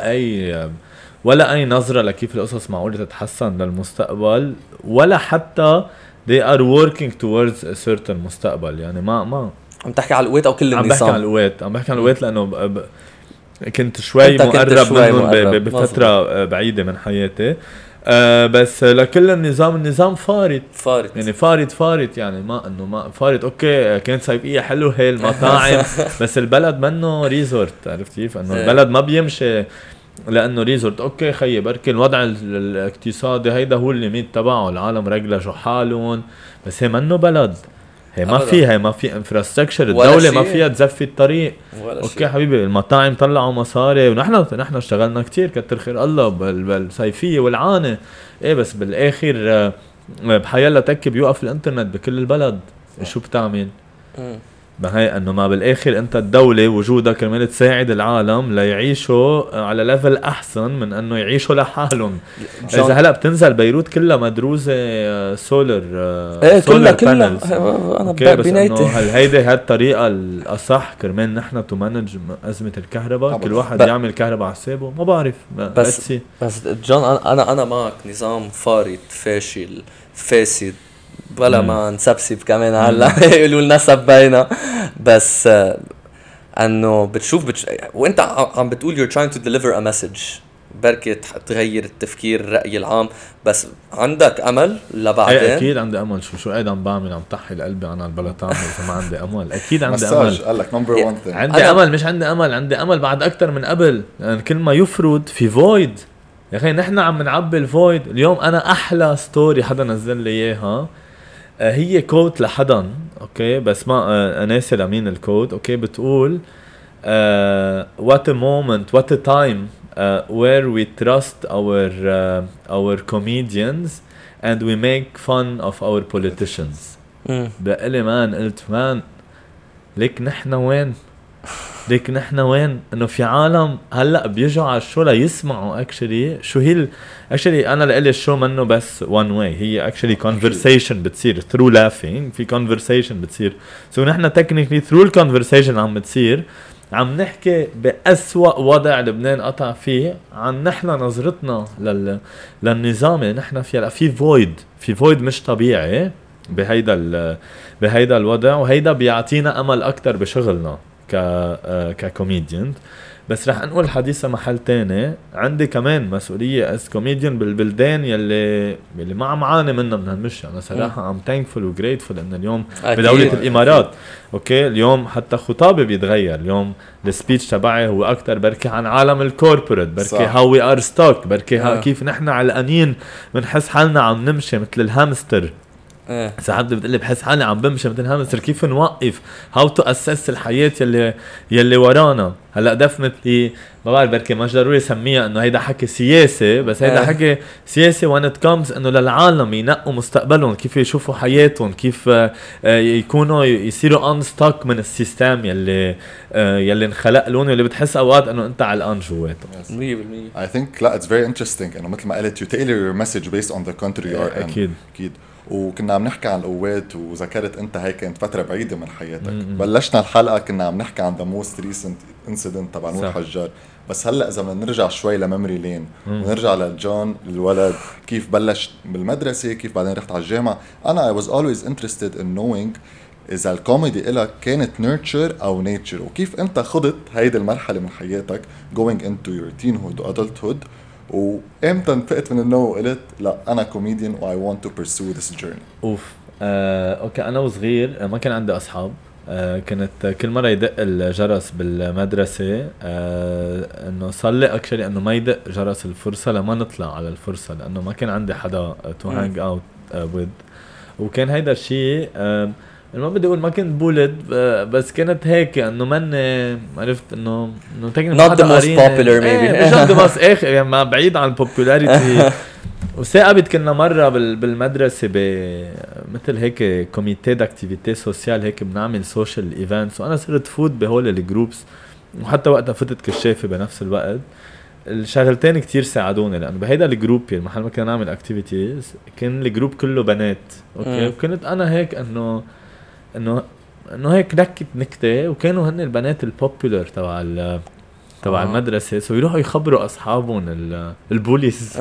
ولا اي نظره لكيف القصص معقوله تتحسن للمستقبل، ولا حتى they are working towards a certain مستقبل. يعني ما عم تحكي على القوات او كل النظام؟ عم بحكي عن القوات لانه كنت شوي مقرب منهم بفترة بعيدة من حياتي. بس لكل النظام فارط يعني فارط يعني ما انه ما فارط. اوكي كانت صيفية حلو هي المطاعم بس البلد منه ريزورت، عرفت كيف؟ انه البلد ما بيمشي لانه ريزورت. اوكي خيي بركي الوضع الاقتصادي هيدا هو الليميت تبعه، العالم رجلجوا حالهم، بس هي منه بلد. هي ما في انفراستراكشر، الدولة ما فيها تزفي الطريق. اوكي حبيبي المطاعم طلعوا مصاري ونحن اشتغلنا كتير كتر خير الله بالصيفية والعانة ايه، بس بالاخر بحيالله تك بيوقف الانترنت بكل البلد. شو بتعمل؟ بهاي انه ما بالاخر انت الدولة وجودك كرمال تساعد العالم ليعيشوا على ليفل احسن من انه يعيشوا لحالهم. اذا هلا بتنزل بيروت كلها مدروسة سولر كلها انا بنيتي هل هيدي هالطريقة الاصح كرمال نحن تو مانج ازمة الكهرباء؟ كل واحد يعمل كهرباء على حسابه. ما بعرف بس جون انا معك نظام فارط فاشل فاسد ولا ما نسبسب كمان هلا يقولوا لنا سبينا. بس انه بتشوف وانت عم بتقول you're trying to deliver a message، بركي تغير التفكير الرأي العام، بس عندك امل لبعدين؟ اكيد عندي امل. شو قاعد عم بعمل؟ عم طحي قلبي انا البلطان. اذا ما عندي امل اكيد عندي امل. قال لك نمبر 1 thing عندي امل. مش عندي امل بعد اكتر من قبل، يعني كل ما يفرض في void. يا اخي نحن عم نعبي الفويد. اليوم انا احلى ستوري حدا نزل لي اياها، هي كوت لحدا اوكي بس ما ناسي لمين الكوت. اوكي بتقول what a moment what a time where we trust our comedians and we make fun of our politicians. بقلي مان قلت مان ليك نحن وين انه في عالم هلا بيجوا على الشو ليسمعوا اكشلي شو هي اكشلي. انا لقلي الشو منه بس one way، هي اكشلي conversation بتصير through laughing. في conversation بتصير سو نحن technically through conversation عم بتصير عم نحكي بأسوأ وضع لبنان قطع فيه عن نحن نظرتنا للنظام اللي نحن فيه. في void مش طبيعي بهيدا الوضع، وهيدا بيعطينا امل اكتر بشغلنا ككوميديان. بس رح نقول حديثة محل تاني. عندي كمان مسؤولية as comedian بالبلدان يلي ما عم عاني منها من هالمشي. أنا صراحة I'm thankful و grateful إن اليوم بدولة الإمارات أوكي اليوم حتى خطابي بيتغير. اليوم السبيتش تبعي هو أكتر بركي عن عالم الكوربوريت، بركي how we are stuck، بركي كيف نحن علقانين بنحس حالنا عم نمشي مثل الهامستر. ساعات بتقلي بحس حالي عم بمشي مثل هامستر، كيف نوقف how to assess الحياة يلي ورانا. هلا دفنتلي ما بعرف بركي مش ضروري سميها انه هيدا حكي سياسي، بس هيدا حكي سياسي when it comes انه للعالم ينقوا مستقبلهم، كيف يشوفوا حياتهم، كيف يكونوا يصيروا unstuck من السيستم يلي انخلق لهم، اللي بتحس اوقات انه انت علقان جواته. 100% I think لا it's very interesting انه مثل ما قلت you tailor your message based on the country you are in. اكيد. وكنا عم نحكي عن القوات وذكرت انت هيك كانت فتره بعيده من حياتك. بلشنا الحلقه كنا عم نحكي عن the most recent incident تبع نور حجار، بس هلا اذا بدنا نرجع شوي لميموري لين ونرجع لجون الولد كيف بلش بالمدرسه، كيف بعدين رحت على الجامعه. انا I was always interested in knowing اذا الكوميدي إلك كانت nurture او nature، وكيف انت خضت هيدي المرحله من حياتك going into your teenhood و adulthood، وامتى انفقت من النوم وقلت لا انا كوميديان و I want to pursue this journey. اوكي انا وصغير ما كان عندي اصحاب. كانت كل مره يدق الجرس بالمدرسه انه صلي اكشلي انه ما يدق جرس الفرصه لما نطلع على الفرصه، لانه ما كان عندي حدا to hang out with. وكان هيدا الشيء ما بدي اقول ما كنت بولد، بس كانت هيك انه من عرفت انه not the most popular maybe not the most يعني ما بعيد عن popularity. وثاقبت كنا مرة بالمدرسة مثل هيك كوميتي داكتيفيتي سوسيال، هيك بنعمل سوشيال ايفنتس، وانا صرت فوت بهول الجروبس، وحتى وقتها فتت كشافة بنفس الوقت. الشغلتين كتير ساعدوني، لانه بهيدا الجروب المحل ما كنا نعمل اكتيفيتيز كان الجروب كله بنات اوكي. وكنت انا هيك انه هيك نكتة، وكانوا هن البنات البوبولر تبع المدرسة، سو يروحوا يخبروا أصحابهم البوليس.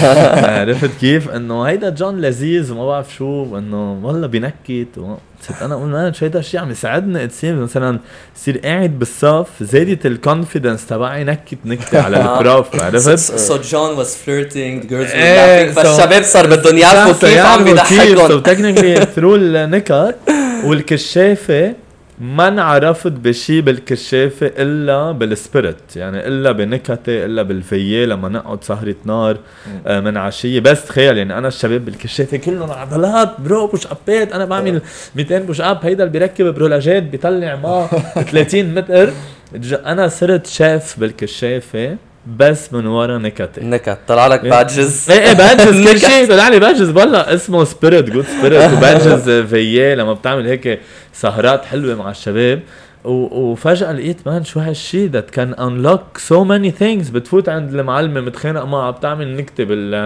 عرفت كيف انه هيدا جون لذيذ وما بعرف شو، انه والله بنكت. صرت انا اقول ما هيدا الشيء عم يساعدني اتسيم. مثلا صير قاعد بالصف زادت الكونفيدنس تبعي نكتة على البروف. عرفت so John was flirting, the girls were laughing، فالشباب صار بدهم يعرفوا كيف عم بيضحكون. so technically through النكت. والكشافة ما انعرفت بشي بالكشافة إلا بالسبيرت، يعني إلا بنكتة، إلا بالفية لما نقعد سهرة نار من عشية. بس تخيل يعني أنا الشباب بالكشافة كلهم عضلات برو بوش أبات، أنا بعمل 200 بوش أب، هيدا اللي بيركب برولوجات بيطلع ما 30 متر. أنا صرت شاف بالكشافة بس من ورا نكت طلع لك بادجز. ايه بادجز كل شيء طلع لي بادجز والله اسمه سبيريت جود سبيريت، وبادجز فيا لما بتعمل هيك سهرات حلوه مع الشباب. وفجأة لقيت مان شو هالشي that can unlock so many things. بتفوت عند المعلمة متخانق معها بتعمل نكتة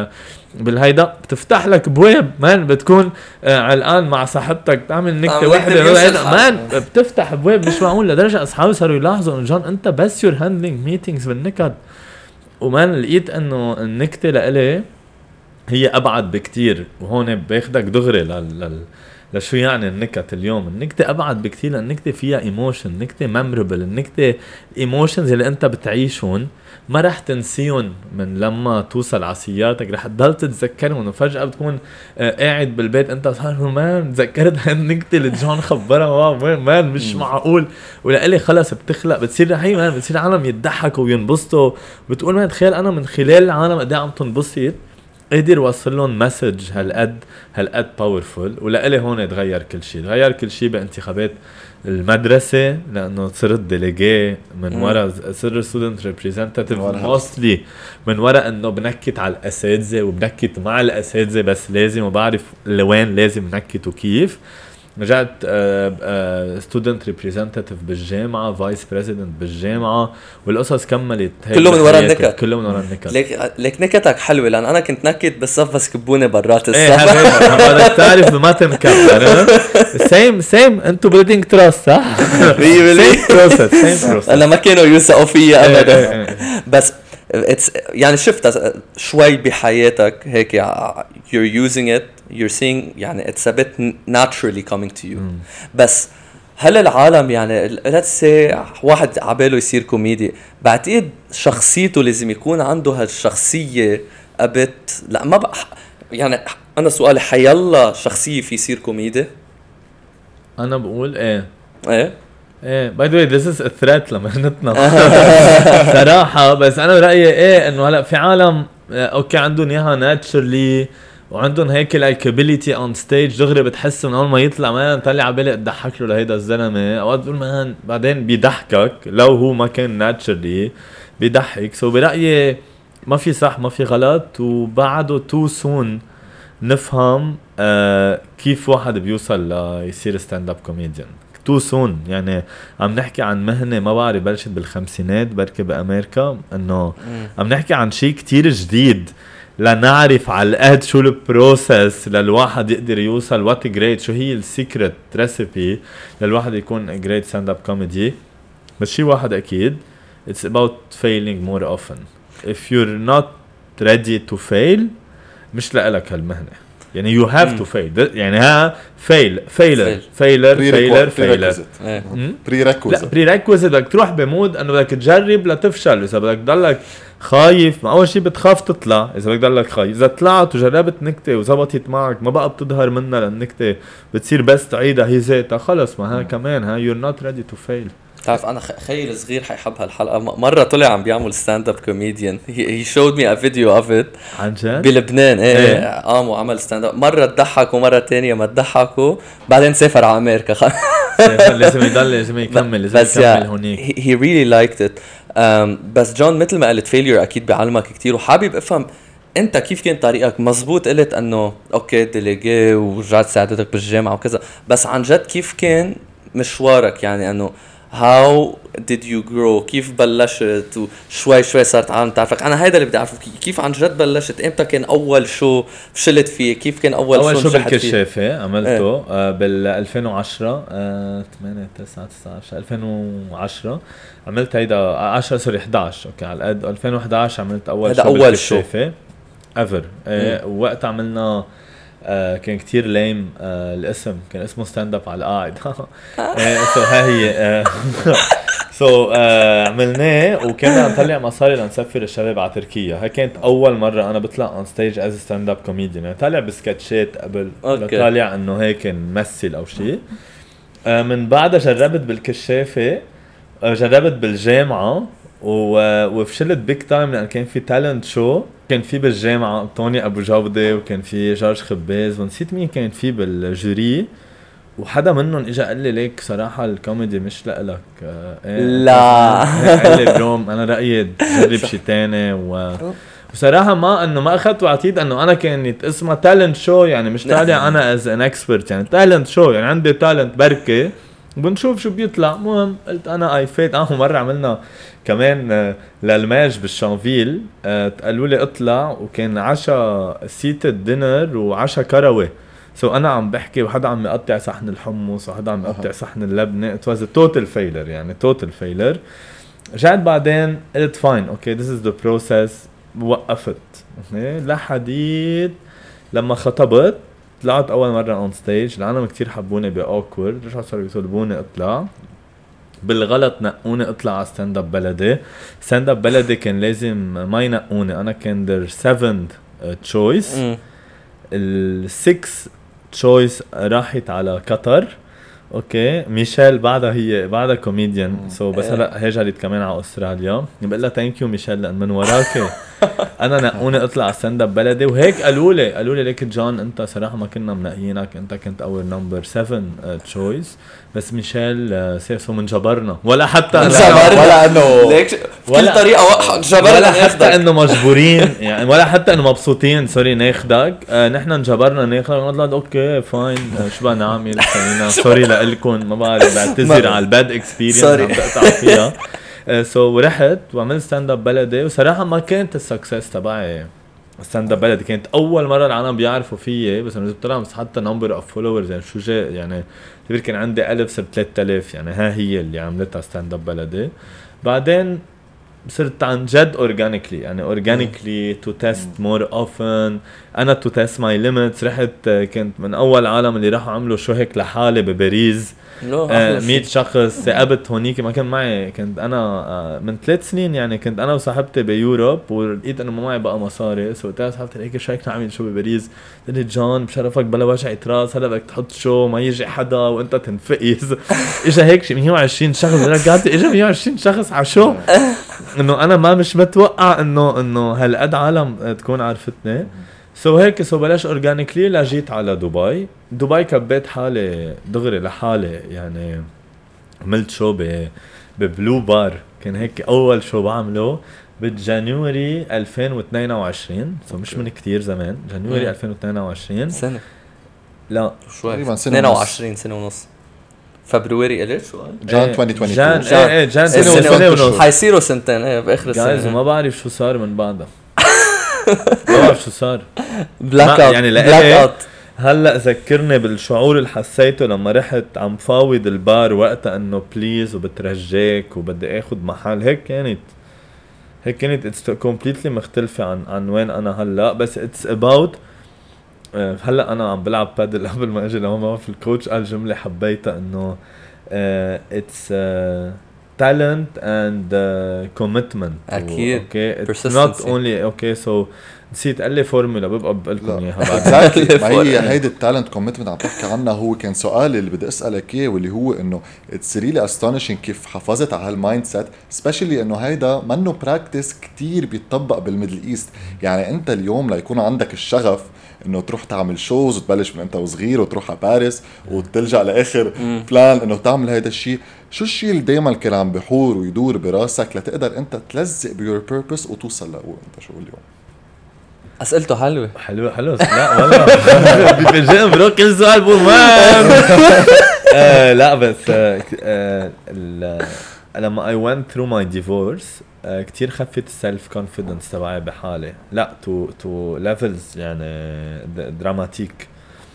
بالهيدا، بتفتح لك بواب مان. بتكون علقان مع صاحبتك تعمل نكتة واحدة مان، بتفتح بواب مش معقول. لدرجة أصحابي صاروا يلاحظوا إنه جون أنت بس you're handling meetings بالنكت. ومان لقيت إنه النكتة لإلي هي أبعد بكتير. وهون باخدك دغري لشو يعني النكت اليوم. النكتة أبعد بكتير، لأن النكتة فيها ايموشن، النكتة ميموربل، النكتة ايموشنز اللي أنت بتعيشون ما رح تنسيون من لما توصل عصياتك، رح تضل تتذكرون. وفجأة بتكون قاعد بالبيت أنت صار مان تذكرت هالنكتة اللي جون خبرها مان مش معقول. ولقلي خلص بتخلق بتصير رحيم مان، بتصير عالم يضحكوا وينبسطوا. بتقول مان تخيل أنا من خلال العالم قد عم تنبسط قدر وصل لهم مسج هالقد باورفول. ولقلي هون تغير كل شيء بانتخابات المدرسة، لأنه صرت ديليجي من وراء، صرت ستودنت ريبريزنتاتيف موستلي من وراء انه بنكت على الأساتذة وبنكت مع الأساتذة، بس لازم وبعرف لوين لازم نكت وكيف. رجعت ستودنت ريبريزنتاتيف بالجامعة، فايس بريزيدنت بالجامعة، والقصص كملت كله من ورا النكت. كله من ورا النكت. ليك نكتك حلوة، لأن أنا كنت نكت بالصف بس كبوني برات الصف. بدك تعرف بما تنكت. سيم انتو بلدينج تراست صح؟ سيم بروسس. أنا ما كانوا يوثقوا فيا أبدا. بس يعني شفت شوي بحياتك هيك you're using it, you're seeing يعني it's a bit naturally coming to you. بس هل العالم يعني let's say واحد عباله يصير كوميدي، بعتقد شخصيته لازم يكون عنده هالشخصية أبت، لا ما بقى يعني أنا سؤالي حيلا شخصية في يصير كوميدي؟ انا بقول ايه ايه باي ذا واي this is a threat لمهنتنا صراحة. بس انا برأيي ايه انه هلا في عالم اوكي عندهم اياها ناتشرلي وعندهم هيك لايكابيليتي اون ستيج، دغري بتحس من اول ما يطلع مان طلع عبالي تضحك له لهيدا الزلمه، اوقات بقول مان بعدين بيضحكك لو هو ما كان ناتشرلي بيضحك. سو برايي ما في صح ما في غلط، وبعده تو سون نفهم كيف واحد بيوصل ليصير ستاند اب كوميديان. تو سون يعني عم نحكي عن مهنه ما بعرف بلشت بالخمسينات بركي بامريكا، انه عم نحكي عن شيء كتير جديد لنعرف على القد شو البروسس للواحد يقدر يوصل وات جريت، شو هي السيكريت ريسيبي للواحد يكون جريت ستاند اب كوميدي. بس شيء واحد اكيد it's about failing more often. if you're not ready to fail مش لك هالمهنه، يعني you have to fail. يعني ها failure prerequisite بدك تروح بمود انه بدك تجرب لتفشل. اذا بدك تضلك خايف، ما اول شيء بتخاف تطلع، اذا بدك تضلك خايف، اذا طلعت وجربت نكته وزبطت معك ما بقى بتظهر منها للنكته بتصير بس تعيدها هي ذاتها خلص، ما ها كمان ها you're not ready to fail. تعرف انا خيل صغير حيحب هالحلقه، مره طلع عم بيعمل ستاند اب كوميديان، he showed me a video of it عن جد بلبنان. ايه قام وعمل ستاند اب، مره تضحك ومره تانية ما تضحكوا، بعدين سافر على امريكا لازم يضل لازم يكمل لازم يكمل هونيك. he really liked it. بس جون مثل ما قلت فيلير اكيد بيعلمك كتير، وحابب افهم انت كيف كان طريقك. مزبوط قلت انه اوكي ديليجي ورجعت ساعدتك بالجامعه وكذا، بس عن جد كيف كان مشوارك؟ يعني انه how did you grow؟ كيف بلشت وشوي شوي صارت عالم تعرفك؟ انا هيدا اللي بدي اعرفه، كيف عن جد بلشت؟ امتى كان اول شو فشلت فيه؟ كيف كان اول شو بالكشافة عملته؟ بال 2010 8 9 19 2010 عملت هيدا 10 سوري 11 اوكي على قد 2011 عملت اول شو بالكشافة ايفر. وقت عملنا كان كتير ليم. الاسم كان اسمه ستاند اب على القاعد سو هاي سو عملناه وكنا نطلع مصاري لنسفر الشباب على تركيا. هاي كانت اول مره انا بطلع اون ستيج از ستاند اب كوميديان، يعني طالع بسكتشات قبل طالع انه هيك نمثل او شيء. من بعدها جربت بالكشافه، جربت بالجامعه وفشلت بيك تايم لان كان في تالنت شو كان في بالجامعه توني ابو جوده وكان في جورج خباز ونسيت مين كان في بالجوري، وحدا منهم اجى قال لي ليك صراحه الكوميدي مش لك. لا قال لي بروم انا رايي جرب شيء ثاني وصراحه ما انه ما اخذت وعطيت انه انا كانت اسمها تالنت شو، يعني مش طالع انا از ان اكسبرت، يعني تالنت شو يعني عندي تالنت بركه بنشوف شو بيطلع. مهم قلت انا اي فيت. مره عملنا كمان للماج بالشانفيل، قالوا لي اطلع وكان عشاء سيتد دينر وعشاء كروي. سو انا عم بحكي وحدا عم يقطع صحن الحمص وحدا عم يقطع صحن اللبنه. ات واز توتال فيلر، يعني توتال فيلر. رجعت بعدين قلت فاين اوكي ذس از ذا بروسس، وقفت لحديت لما خطبت. طلعت اول مره اون ستيج، العالم كتير حبوني باوكورد، رجعوا صاروا يطلبوني اطلع. بالغلط نقوني اطلع على ستاند اب بلدي. ستاند اب بلدي كان لازم ما ينقوني، انا كان در 7 تشويس، ال 6 تشويس راحت على قطر. اوكي ميشيل بعدها كوميديان سو بس هلا هاجرت كمان على استراليا. بقول لها ثانك يو ميشيل لان من وراك انا نقوني اطلع ستاند اب بلدي. وهيك قالوا لي ليك جون انت صراحه ما كنا منقيينك، انت كنت اول نمبر 7 تشويس، بس ميشيل سيرسو من جبرنا ولا حتى ولا انه ليك بكل طريقه جبرنا، ولا حتى انه مجبورين يعني، ولا حتى انه مبسوطين سوري ناخدك. نحن انجبرنا ناخدك. قلت اوكي فاين شو بدنا نعمل خلينا سوري لكم ما بعرف بعتذر على الباد اكسبيرينس عم بقطع فيها. سو رحت وعملت ستاند اب بلدي، وصراحه ما كانت السكسس تبعي ستاند اب بلدي، كانت اول مره العالم بيعرفوا فيي. بس انا طلع بس حتى نمبر اوف فولورز يعني شو جاي يعني كان عندي 1000 صرت 3000، يعني ها هي اللي عملتها ستاند اب بلدي. بعدين صرت عن جد اورجانيكلي يعني اورجانيكلي تو تيست مور اوفن انا تو تيست ماي ليميتس. رحت كنت من اول عالم اللي راحوا عملوا شو هيك لحالي بباريس 100 شخص. ثاقبت هونيك ما كان معي، كنت انا من 3 سنين يعني كنت انا وصاحبتي بيوروب ولقيت انه ما معي بقى مصاري، سو قلت لها صاحبتي هيك شو هيك نعمل شو بباريس؟ قلت لي جون بشرفك بلا وجع راس هلا بدك تحط شو ما يجي حدا وانت تنفقز. اجى هيك شي 120 شخص رجعت اجى 120 شخص على شو انه انا ما مش متوقع انه هالقد عالم تكون عرفتني. سو هيك بلاش اورجانيكلي لجيت على دبي كبيت حالي دغري لحالي يعني. عملت شو ببلو بار، كان هيك اول شو بعمله بجانيوري 2022 سو مش من كتير زمان. جانيوري 2022 سنة لا شوي تقريبا سنة 22 سنة ونص. فبراير قلت شو جان 2022 جان سنة ونص حيصيروا سنتين باخر السنة. جايز وما بعرف شو صار من بعدها. ما بعرف شو صار بلاك اوت يعني بلاك اوت. هلا ذكرني بالشعور اللي حسيته لما رحت عم فاوض البار وقتها انه بليز وبترجاك وبدي اخد محل. هيك كانت اتس كومبليتلي مختلفة عن وين انا هلا. بس اتس اباوت هلا انا عم بلعب بادل. قبل ما اجي لهون في الكوتش قال جملة حبيتها انه اتس talent and commitment. اكيد اوكي it's not only اوكي سو نسيت قال لي فورمولا ببقى بقلكم اياها بعد. ما هي هيدي التالنت كوميتمنت عم تحكي عنها. هو كان سؤالي اللي بدي اسالك اياه واللي هو انه اتس ريلي استونيشنج كيف حافظت على هالمايند سيت، سبيشلي انه هيدا منه براكتس كتير بيتطبق بالميدل ايست. يعني انت اليوم ليكون عندك الشغف انه تروح تعمل شوز وتبلش من انت وصغير وتروح على باريس وتلجأ لاخر بلان انه تعمل هيدا الشيء، شو الشيء اللي دايما كان عم بحور ويدور براسك لتقدر انت تلزق بيور بيربس وتوصل لهو انت شو اليوم؟ اسئلته حلوه لا والله بيفاجئني برو كل سؤال بومان. لا بس لما I went through my divorce كتير خفت السلف كونفيدنس تبعي بحالي. لا تو ليفلز يعني دراماتيك.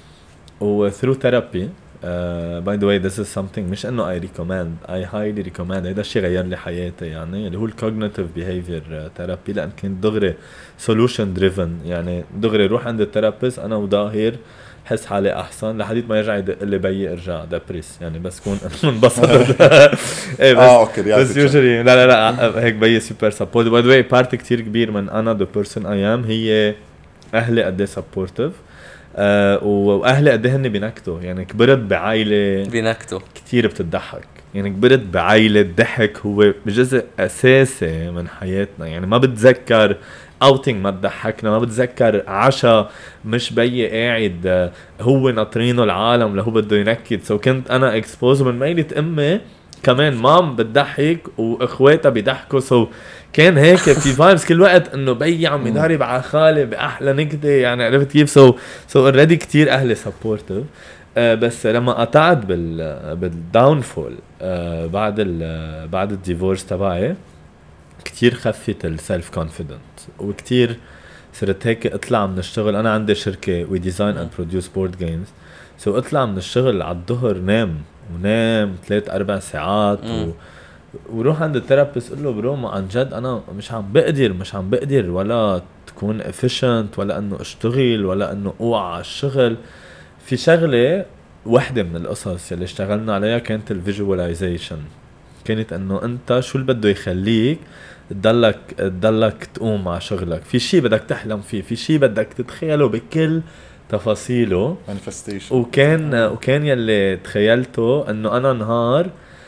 و through therapy by the way this is something مش انه I highly recommend. هيدا الشيء غير لي حياتي يعني اللي هو الكوجنيتيف behavior therapy. لأن كنت دغري solution driven يعني دغري روح عند الثيرابيست انا وظاهر حس حالي احسن لحديت ما يرجع يدق لي بيي ارجع دبريس يعني بس كون منبسط. ايه بس يوجولي لا هيك بيي سوبر سبورت. باي ذا واي بارت كتير كبير من انا ذا بيرسون اي ام هي اهلي قد ايه سبورتيف. واهلي قد ايه هن بينكتوا يعني. كبرت بعائله بينكتوا كتير بتضحك يعني. كبرت بعائله الضحك هو جزء اساسي من حياتنا يعني. ما بتذكر اوتينج ما تضحكنا، ما بتذكر عشاء مش بيي قاعد هو ناطرينه العالم لهو بده ينكد. سو كنت انا اكسبوز من ميلة امي كمان مام بتضحك واخواتها بيضحكوا. سو كان هيك في فايبس كل وقت انه بيي عم يضرب على خالي باحلى نكته يعني. عرفت كيف؟ سو اوريدي كتير اهلي سبورتيف. بس لما قطعت بالداونفول بعد الديفورس تبعي كتير خفت السلف كونفيدنت وكتير صرت هيك اطلع من الشغل. انا عندي شركه وي ديزاين اند بروديوس بورد جيمز. سو اطلع من الشغل على الظهر نام 3-4 ساعات وروح عند الثيرابيست قل له برو ما عن جد انا مش عم بقدر ولا تكون efficient ولا انه اشتغل ولا انه اوعى على الشغل. في شغله واحده من القصص اللي اشتغلنا عليها كانت الفيجواليزيشن. كانت انه انت شو اللي بده يخليك تضلك تقوم مع شغلك. في شيء بدك تحلم فيه، في شيء بدك تتخيله بكل تفاصيله manifestation. وكان يلي تخيلته انه انا نهار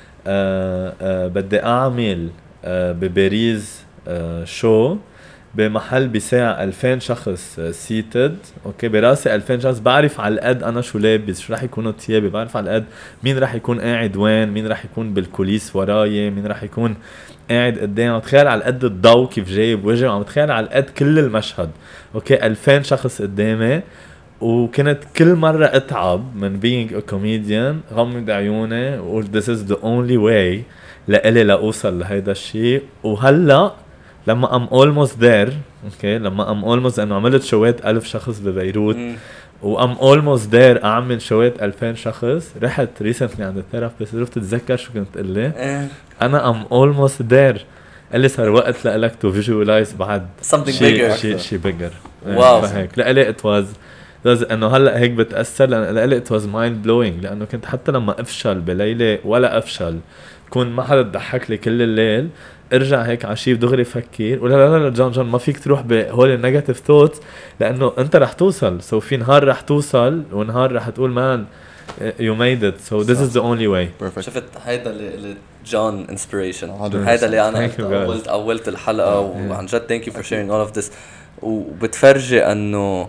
بدي اعمل بباريس شو بمحل بساعة 2000 شخص سيتد. اوكي براسي 2000 شخص. بعرف على القد انا شو لابس، شو راح يكونوا ثيابي، بعرف على القد مين راح يكون قاعد وين، مين راح يكون بالكوليس وراي، مين راح يكون قاعد قدام. تخيل على القد الضوء كيف جاي بوجهي، عم تخيل على القد كل المشهد. اوكي 2000 شخص قدامي. وكنت كل مرة اتعب من being a comedian غمض عيوني وقول this is the only way لإلي لأوصل لهيدا الشيء. وهلأ لما I'm almost there اوكي لما I'm almost انه عملت شوات 1000 شخص ببيروت I'm almost there اعمل شوات 2000 شخص. رحت recently عند الثيرابيست رفت اتذكر شو كنت قلي انا I'm almost there قال لي صار وقت لك تو فيجوالايز بعد something bigger شيء بيجر. واو فهيك لقلي ات واز انه هلا هيك بتاثر لقلي ات واز مايند بلوينج لانه كنت حتى لما افشل بليله ولا افشل كون ما حدا ضحك لي كل الليل ارجع هيك عشيب دغري فكر ولا لا جون ما فيك تروح بهول النيجاتيف ثوتس لانه انت رح توصل سو في نهار رح توصل ونهار رح تقول مان you made it so this is the only way. Perfect. شفت هيدا اللي جون inspiration هيدا اللي انا اولت الحلقه وعن جد thank you for sharing all of this وبتفرجي انه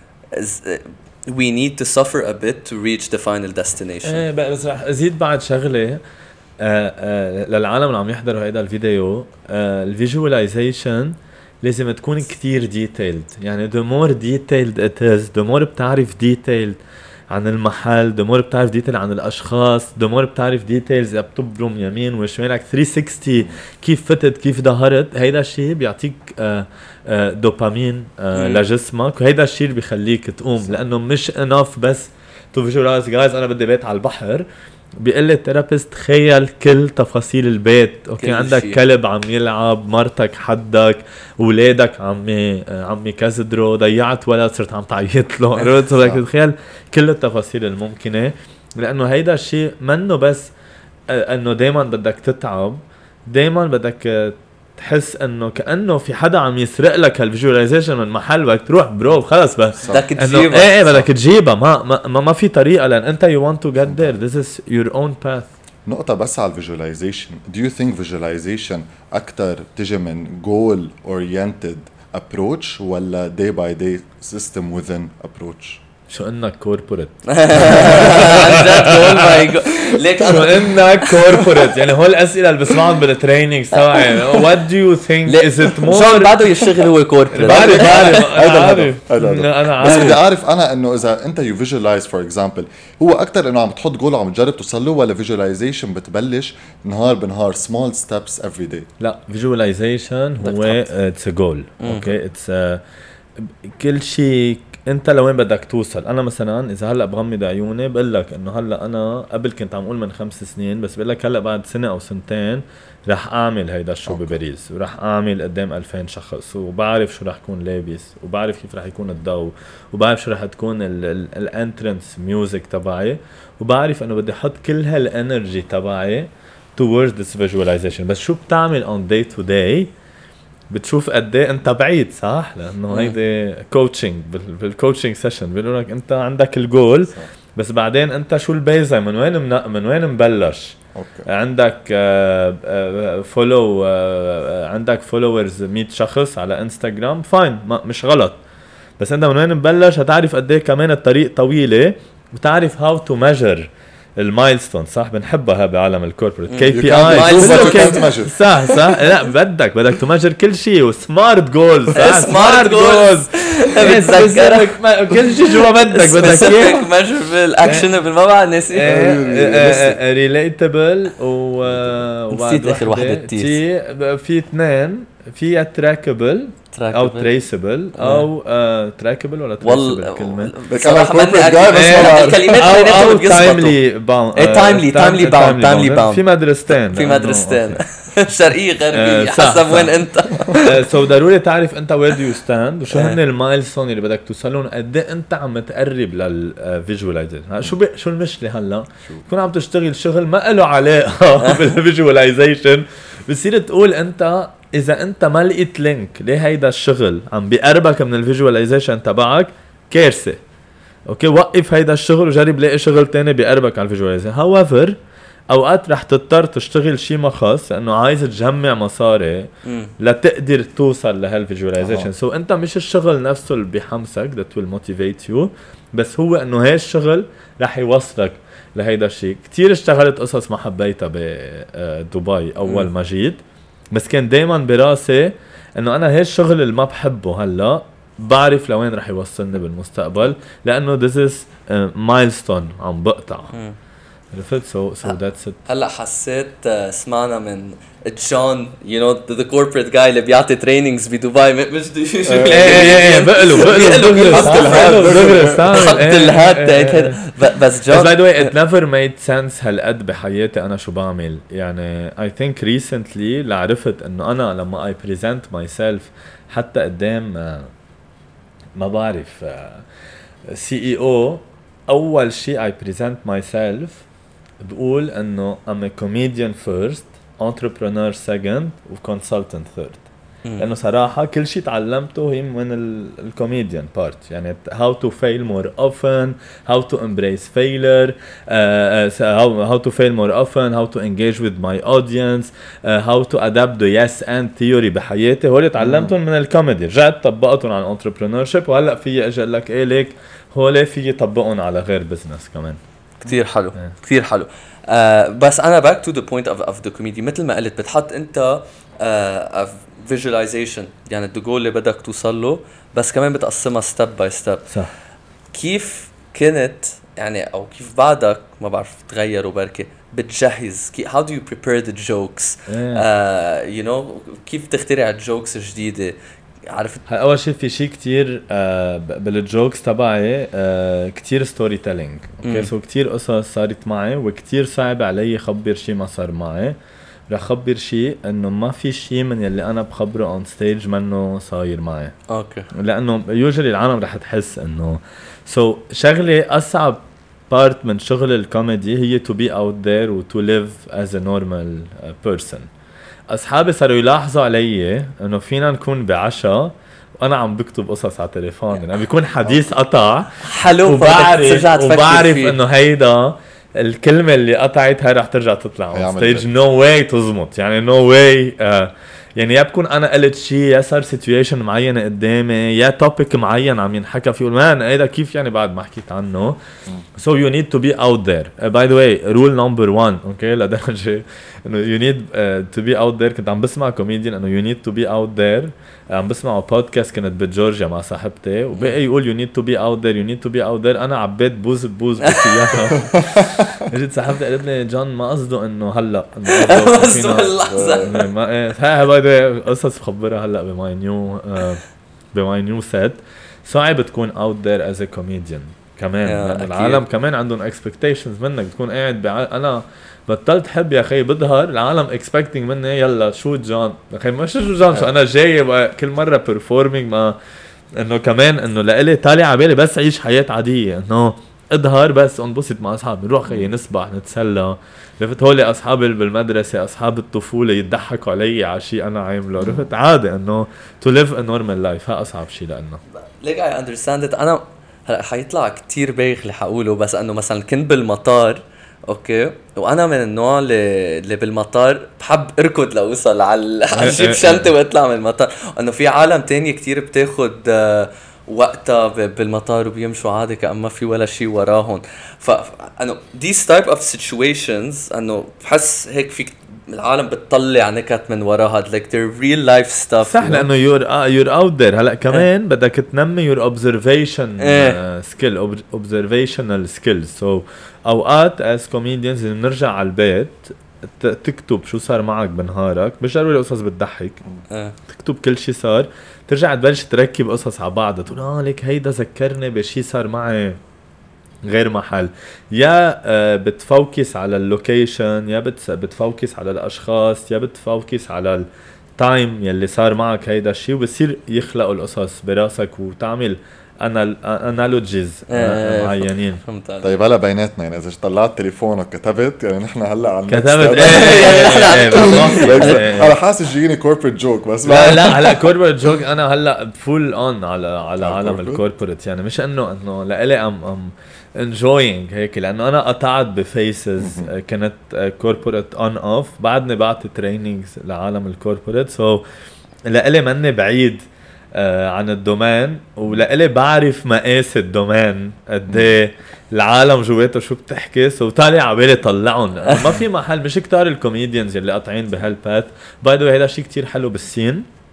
we need to suffer a bit to reach the final destination. بس رح ازيد بعد شغله للعالم اللي عم يحضروا هيدا الفيديو. الفيجواليزيشن لازم تكون كتير ديتيلد يعني the more detailed it is the more بتعرف ديتيلد عن المحل the more بتعرف ديتيل عن الاشخاص the more بتعرف ديتيلز اذا بتبرم يمين وشمالك 360 كيف فتت كيف ظهرت. هيدا الشيء بيعطيك دوبامين لجسمك وهيدا الشيء اللي بيخليك تقوم لانه مش enough بس تو فيجواليز جايز انا بدي بيت على البحر. بيقول لي الثيرابيست تخيل كل تفاصيل البيت اوكي عندك شيء. كلب عم يلعب مرتك حدك اولادك عمي كزدرو ضيعت ولد صرت عم تعيط له عرفت بدك تتخيل كل التفاصيل الممكنه لانه هيدا الشيء منه بس انه دايما بدك تتعب دايما بدك تحس انه كانه في حدا عم يسرق لك هالفيجواليزيشن من محل بدك تروح برو خلص بس بدك تجيبها بدك تجيبها ما في طريقه لان انت you want to get there this is your own path. نقطة بس على الفيجواليزيشن do you think visualization أكتر تجي من goal oriented approach ولا day by day system within approach؟ شو انك كوربوريت عن جد جول ماي جاد ليك شو انك كوربوريت يعني هول الاسئله اللي بسمعهم بالتريننج تبعي what do you think is it more شو بعده يشتغل هو كوربوريت بعرف انا بس بدي اعرف انا انه اذا انت you visualize for example هو اكتر انه عم تحط جول وعم تجرب توصل له ولا visualization بتبلش نهار بنهار small steps every day؟ لا visualization هو it's a goal okay it's كل شيء انت لوين بدك توصل. انا مثلا اذا هلا بغمض عيوني بقول لك انه هلا انا قبل كنت عم اقول من 5 سنين بس بقول لك هلا بعد سنه او سنتين رح اعمل هيدا الشو بباريس ورح اعمل قدام 2000 شخص وبعرف شو رح يكون لابس وبعرف كيف رح يكون الضوء وبعرف شو رح تكون الانترنس ميوزك تبعي وبعرف انه بدي احط كل هالانرجي تبعي towards this visualization. بس شو بتعمل on day to day بتشوف قد ايه انت بعيد صح لانه هيدي كوتشنج بالكوتشنج سيشن بيقولوا لك انت عندك الجول بس بعدين انت شو البيزة من وين مبلش عندك فولو عندك فولورز 100 شخص على انستغرام فاين مش غلط بس انت من وين مبلش هتعرف قد ايه كمان الطريق طويلة وتعرف how to measure المايلستون صح بنحبها بعالم الكوربريت كي بي اي صح لا بدك تمجر كل شيء وسمارت جولز سمارت جولز بتذكرك كل شيء جوا بدك اياه ميجربل اكشنبل ما بعرف ناسي ريليتابل وبعد اخر وحده في اثنين في تراكبل او تريسبل او تراكبل ولا تريسبل كلمه صراحه الكلمات او تايملي باوند في مدرستين شرقيه غربيه حسب وين انت سو ضروري تعرف انت وير دو يو ستاند وشو هن المايلستون اللي بدك توصلهم قد ايه انت عم تقرب للفيجواليزيشن. شو المشكله هلا تكون عم تشتغل شغل ما له علاقه بالفيجواليزيشن بصير تقول انت اذا انت ما لقيت لينك ليه هيدا الشغل عم بيقربك من الفيجواليزيشن تبعك كارثه. اوكي وقف هيدا الشغل وجرب لاقي شغل تاني بيقربك على الفيجواليزيشن. however اوقات رح تضطر تشتغل شيء ما خاص لانه عايز تجمع مصاري لتقدر توصل لهالفيجواليزيشن. سو انت مش الشغل نفسه اللي بيحمسك that will motivate you بس هو انه هاي الشغل رح يوصلك لهيدا الشيء. كتير اشتغلت قصص ما حبيتها بدبي اول ما جيت بس كان دايما براسي انه انا هاي الشغل اللي ما بحبه هلا بعرف لوين رح يوصلني بالمستقبل لانه this is milestone عم بقطع عرفت سو ذاتس ات. هلا حسيت سمعنا من جون you know the corporate guy اللي بيعطي trainings بدبي مش بقلوا حط الهات بس جون by the way it never made sense هالقد بحياتي انا شو بعمل يعني I think recently لعرفت انه انا لما I present myself حتى قدام ما بعرف CEO اول شيء I present myself بقول انه I'm a comedian first, entrepreneur second و consultant third. لانه صراحه كل شيء تعلمته هي من الكوميديان بارت يعني how to fail more often, how to embrace failure, how to fail more often, how to engage with my audience, how to adapt the yes and theory بحياتي. هول تعلمتهم من الكوميدي رجعت طبقتهم على entrepreneurship وهلا في اجي لك ايه ليك هول في طبقهم على غير بزنس كمان. كتير حلو كتير حلو. بس انا back to the point of the comedy مثل ما قلت بتحط انت visualization يعني الجول اللي بدك توصل له بس كمان بتقسمها step by step. صح. كيف كنت يعني او كيف بعدك ما بعرف تغير وبركي بتجهز how do you prepare the jokes you know كيف تخترع الجوكس الجديدة عرفت. اول شيء في شيء كتير بالجوكس تبعي كتير ستوري تيلينج اوكي سو كتير قصص صارت معي وكتير صعب علي خبر شيء ما صار معي. رح خبر شيء انه ما في شيء من يلي انا بخبره اون ستيج منه صاير معي اوكي لانه يوجولي العالم رح تحس انه شغله اصعب بارت من شغل الكوميدي هي to be out there و to live as a normal person. اصحابي صاروا يلاحظوا علي انه فينا نكون بعشاء وانا عم بكتب قصص على تليفون يعني بيكون حديث قطع حلو وبعرف انه هيدا الكلمه اللي قطعت هاي رح ترجع تطلع على ستيج نو واي تزمط يعني نو واي يعني يا بكون انا قلت شيء يا صار سيتويشن معينه قدامي يا توبيك معين عم ينحكى فيه مان هيدا كيف يعني بعد ما حكيت عنه. So you need to be out there. By the way rule number 1 اوكي لدرجه انه you need to be out there. كنت عم بسمع كوميديان انه you need to be out there عم بسمع بودكاست كنت بجورجيا مع صاحبتي وبقى يقول you need to be out there you need to be out there. انا عبيت بوز بالسيارة اجت صاحبتي قالت لي جون ما قصده انه هلا ما قصده اللحظه ما هاي باي قصص بخبرها هلا بماي نيو سيت. صعب تكون out there as a comedian كمان لأن العالم كمان عندهم expectations منك بتكون قاعد انا بطلت حب يا اخي بظهر العالم expecting مني يلا شو جون اخي مش شو جون شو انا جاي كل مره performing ما انه كمان انه لإلي طالع على بالي بس عيش حياه عاديه انه اظهر بس انبسط مع اصحابي نروح خي نسبح نتسلى. عرفت هولي اصحابي بالمدرسه اصحاب الطفوله يضحكوا علي على شيء انا عامله. عرفت عادي انه to live a normal life ها اصعب شيء لانه ليك I understand it. انا هلا حيطلع كتير بايخ اللي حقوله بس انه مثلا كنت بالمطار اوكي وانا من النوع اللي بالمطار بحب اركض لاوصل على جيب شنطه واطلع من المطار. انه في عالم تانية كتير بتاخد وقتها بالمطار وبيمشوا عادي كأما في ولا شيء وراهم. فانه these type of situations انه بحس هيك في العالم بتطلع نكت من وراها like their real life stuff صح لانه you're out there. هلا كمان بدك تنمي your observation skill observational skills. so اوقات as comedians نرجع على البيت تكتب شو صار معك بنهارك مش ضروري قصص بتضحك تكتب كل شيء صار ترجع تبلش تركب قصص على بعض تقول ليك هيدا ذكرني بشي صار معي غير محل يا بتفوكس على اللوكيشن يا بتفوكس على الاشخاص يا بتفوكس على التايم يلي صار معك هيدا الشيء وبصير يخلقوا القصص براسك وتعمل انالوجيز معينين. طيب هلا بيناتنا يعني اذا طلعت تليفونك كتبت يعني نحن هلا على كتبت انا حاسس جيني كوربريت جوك بس لا هلا كوربريت جوك انا هلا فول اون على عالم الكوربريت يعني مش انه لإلي ام enjoying هيك لانه انا قطعت بفيسز كانت كوربريت اون اوف بعدني بعطي ترينينجز لعالم الكوربريت سو لإلي مني بعيد عن الدومين ولإلي بعرف مقاس الدومين قد العالم جواته شو بتحكي سو طالع عبالي طلعهم ما في محل مش كتار الكوميديانز اللي قاطعين بهالبات باي ذا واي هذا شيء كتير حلو بالسين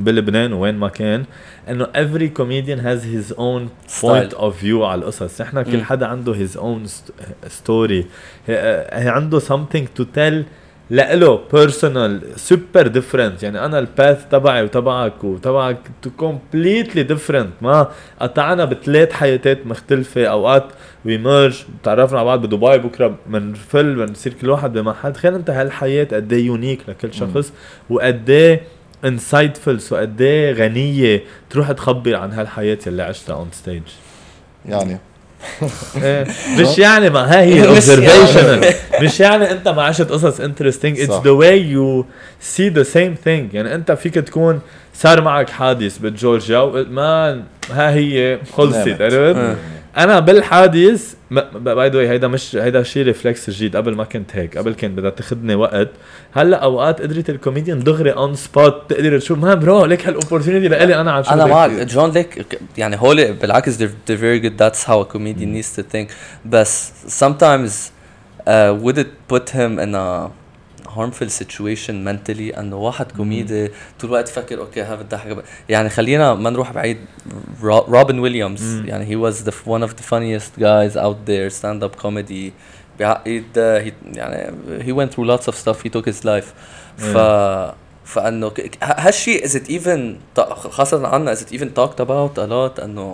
بلبنان وين ما كان انه every comedian has his own point of view على القصص. احنا كل حدا عنده his own story. هي عنده something to tell لإله personal super different. يعني انا الباث تبعي وتبعك completely different. ما قطعنا بثلاث حياتات مختلفة. اوقات we merge تعرفنا على بعض بدبي بكرة بنصير كل واحد بمحل. تخيل انت هالحياة قد ايه يونيك لكل شخص وقد ايه insightful وقد ايه غنية تروح تخبر عن هالحياة اللي عشتها on stage. يعني مش يعني ما هي observational. مش يعني انت ما عشت قصص interesting. It's the way you see the same thing. يعني انت فيك تكون صار معك حادث بجورجيا وما ها هي خلصت. عرفت انا بالحادث باي ذا واي هيدا شيء ريفلكس جديد. قبل ما كنت هيك. قبل كان بدها تاخذني وقت. هلا اوقات قدرت الكوميديان دغري اون سبوت تقدر تشوف ما برو ليك هالاوبورتونيتي لإلي انا عم شوف. انا معك جون ليك يعني هول بالعكس they're very good. That's how a comedian needs to think. بس sometimes would it put him in a harmful situation mentally انه واحد كوميدي طول الوقت فكر اوكي ها بدي احكي. يعني خلينا ما نروح بعيد. روبن ويليامز يعني he was one of the funniest guys out there stand up comedy. يعني he went through lots of stuff. He took his life. فانه هالشيء is it even خاصة عنا is it even talked about a lot انه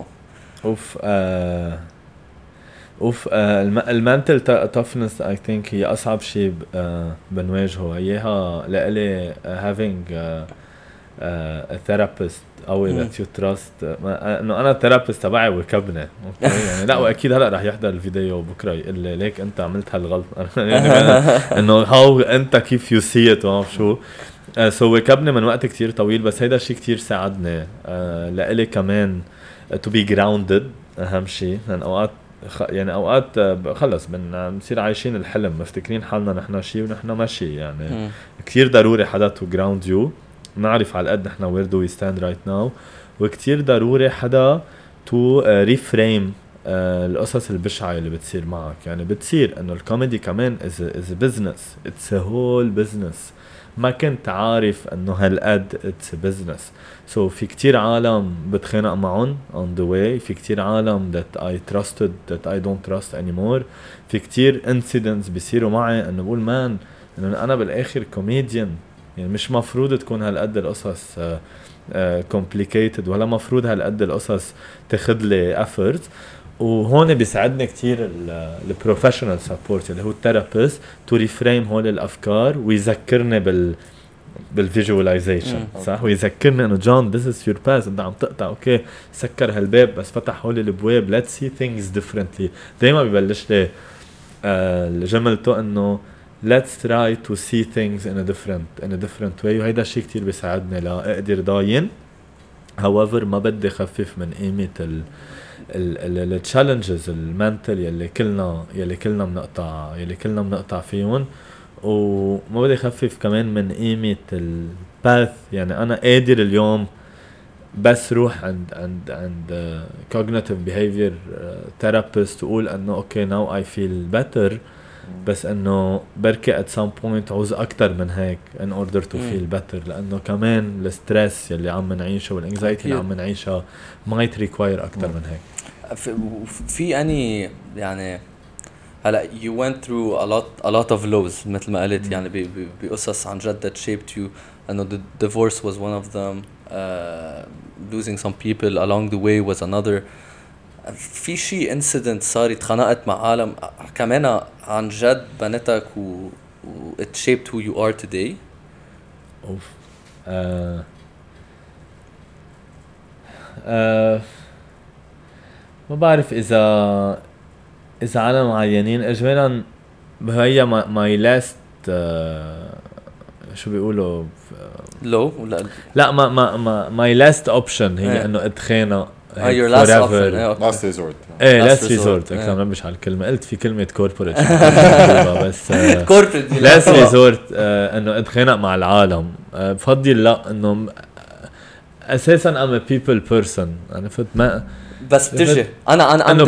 المنتل toughness I think هي أصعب شيء بنواجهه. إياها لإلي having a therapist أو that you trust. إنه أنا therapist تبعي وكبني يعني لا وأكيد هلأ رح يحضر الفيديو بكرة يقول لي ليك أنت عملت هالغلط. يعني إنه how أنت كيف you see it وما شو. so وكبني من وقت كتير طويل. بس هيدا شيء كتير ساعدني لإلي كمان to be grounded. أهم شيء لأن أوقات خلص بنصير عايشين الحلم مفتكرين حالنا نحنا شيء ونحنا ماشي. يعني كتير ضروري حدا to ground you نعرف على قد نحنا where do we stand right now. وكتير ضروري حدا to reframe القصص البشعة اللي بتصير معك. يعني بتصير انه الكوميدي كمان is a business. It's a whole business. ما كنت عارف انه هالقد it's a business. so في كتير عالم بتخانق معهم on the way. في كتير عالم that I trusted that I don't trust anymore. في كتير incidents بيصيروا معي انه بقول مان انه انا بالاخر كوميديان. يعني مش مفروض تكون هالقد القصص complicated ولا مفروض هالقد القصص تاخدلي effort. وهون بيساعدني كتير البروفيشنال سبورت اللي هو الثيرابيست تو ريفريم هول الافكار ويذكرني بالفيجواليزيشن صح. ويذكرني انه جون this is your past. انت عم تقطع اوكي سكر هالباب بس فتح هول الابواب. let's see things differently. دايما ببلش لي جملته انه let's try to see things in a different way. وهيدا الشيء كتير بيساعدني لاقدر ضاين. however ما بدي خفف من قيمة التشالنجز المنتل يلي كلنا بنقطع فيهم. وما بدي خفف كمان من قيمة الباث. يعني انا قادر اليوم بس روح عند cognitive behavior therapist وقول انه اوكي now I feel better. بس انه بركي at some point عوز اكتر من هيك in order to feel better. لانه كمان الستريس يلي عم نعيشه والانكزايتي اللي عم نعيشها might require اكتر من هيك. في اني يعني هلا you went through a lot of lows مثل ما قلت. يعني بقصص عن جد that shaped you. انه the divorce was one of them. Losing some people along the way was another. في شيء incident صار اتخانقت مع عالم كمان عن جد بنتك و it shaped who you are today. ما بعرف إذا عالم معينين إجمالا. هي my last شو بيقولوا لو ولا لا ما my last option هي إنه اتخانق. your last option. last resort. last resort. أكثر ما بش على الكلمة. قلت في كلمة corporate بس corporate last resort. إنه اتخانق مع العالم. بفضل لا إنه أساساً I'm a people person. أنا فت ما بس بتجي أنا